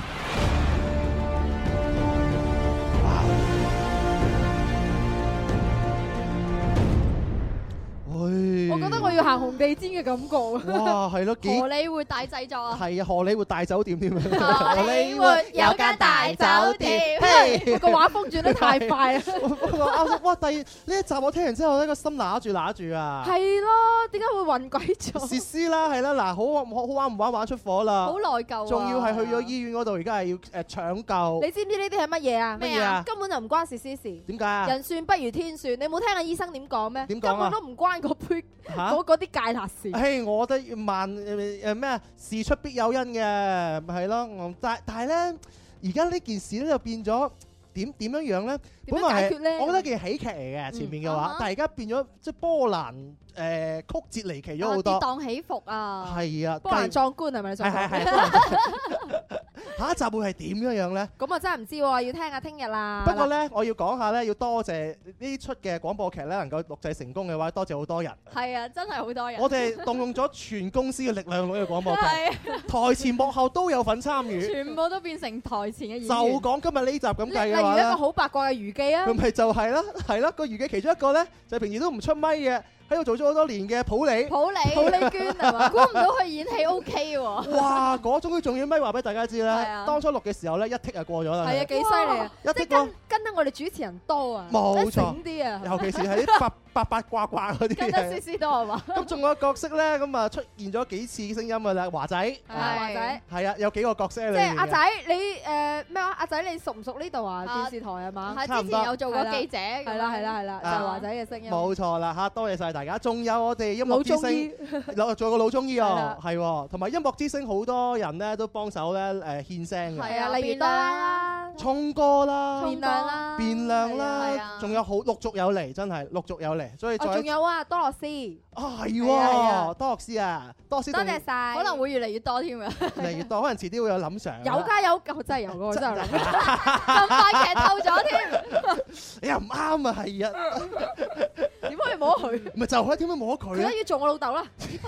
覺得我要行紅地毯嘅感覺。 哇，係咯， 荷里活大製作啊！ 係啊，荷里活大酒店添啊！ 荷里活有間大酒店， 個畫風轉得太快啦！ 哇，第呢一集我聽完之後咧，個心揦住啊！ 係咯，點解會暈鬼咗？ 設施啦，係啦，嗱，好玩唔玩？玩出火啦！ 好內疚啊！ 仲要係去咗醫院嗰度，而家係要搶救。 你知唔知呢啲係乜嘢啊？ 咩啊？ 根本就唔關設施事。 點解啊？ 人算不如天算，你冇聽下醫生點講咩？ 點講啊？ 根本都唔關嗰杯嗰啲芥辣事。 嘿，我覺得咩事出必有因嘅，係咯。但係咧，而家呢件事咧就變咗點樣咧？ 點樣解決咧？ 我覺得件喜劇嚟嘅前面嘅話，但係而家變咗即係波瀾曲折離奇咗好多。 跌宕起伏啊！ 係啊， 波瀾壯觀係咪？ 係。下一集會係點樣咧？ 咁啊真係唔知喎，要聽下聽日啦。 不過咧，我要講下咧，要多謝呢出嘅廣播劇咧能夠錄製成功嘅話，多謝好多人。 係啊，真係好多人。 我哋動用咗全公司嘅力量錄呢個廣播劇，台前幕後都有份參與， 全部都變成台前嘅演員。 就講今日呢集咁計嘅話， 例如一個好八卦嘅娛記啊， 咁咪就係啦，係啦，個娛記其中一個咧，就平時都唔出咪嘅。喺度做咗好多年嘅普利娟係嘛？估唔到佢演戲 OK 喎！ 哇，嗰種重要咪話俾大家知啦。當初錄嘅時候咧，一剔就過咗啦。 係啊，幾犀利啊！ 一剔跟得我哋主持人多啊， 冇錯醒啲啊！ 尤其是係啲八卦嗰啲。 跟得思多係嘛？ 咁仲有角色咧，咁啊出現咗幾次聲音㗎啦，華仔。 華仔。係啊，有幾個角色喺裏面。 即係阿仔，你咩話？阿仔，你熟唔熟呢度啊？電視台係嘛？ 係之前有做過記者。 係啦，就係華仔嘅聲音。 冇錯啦嚇，多謝晒大家。仲有我哋音樂之星，仲有個老中醫哦，係，同埋音樂之星好多人咧都幫手咧獻聲嘅。 係啊，例如啦， 聰哥啦，變亮啦，仲有好陸續有嚟，真係陸續有嚟，所以仲有啊，多樂斯。 係喎，多樂斯啊，多謝晒， 可能會越嚟越多添啊， 越嚟越多，可能遲啲會有林 Sir。 有㗎有，真係有㗎，真係諗咁快劇透咗添。 你又唔啱啊，係啊， 點可以摸佢？ 咪就係點解摸佢？ 佢都要做我老豆啦。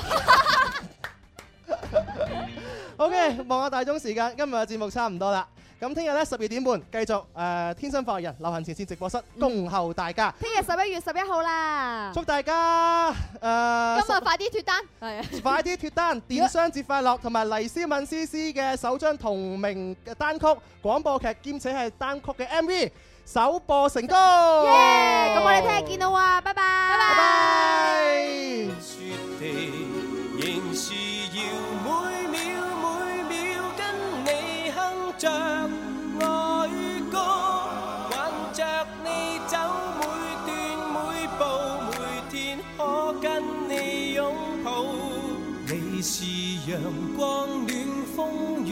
OK， 望下大鐘時間，今日嘅節目差唔多啦。咁聽日咧12點半繼續天生快活人流行前線直播室恭候大家。 聽日11月11號啦， 祝大家今日快啲脫單， 快啲脫單，電商節快樂，同埋黎思敏詩詩嘅首張同名嘅單曲廣播劇兼且係單曲嘅 MV 首播成功。 咁我哋聽日見到啊，拜拜， 拜拜。 雪地仍是要每秒跟你哼着愛歌，挽着你走每段每步，每天可跟你擁抱。你是陽光暖風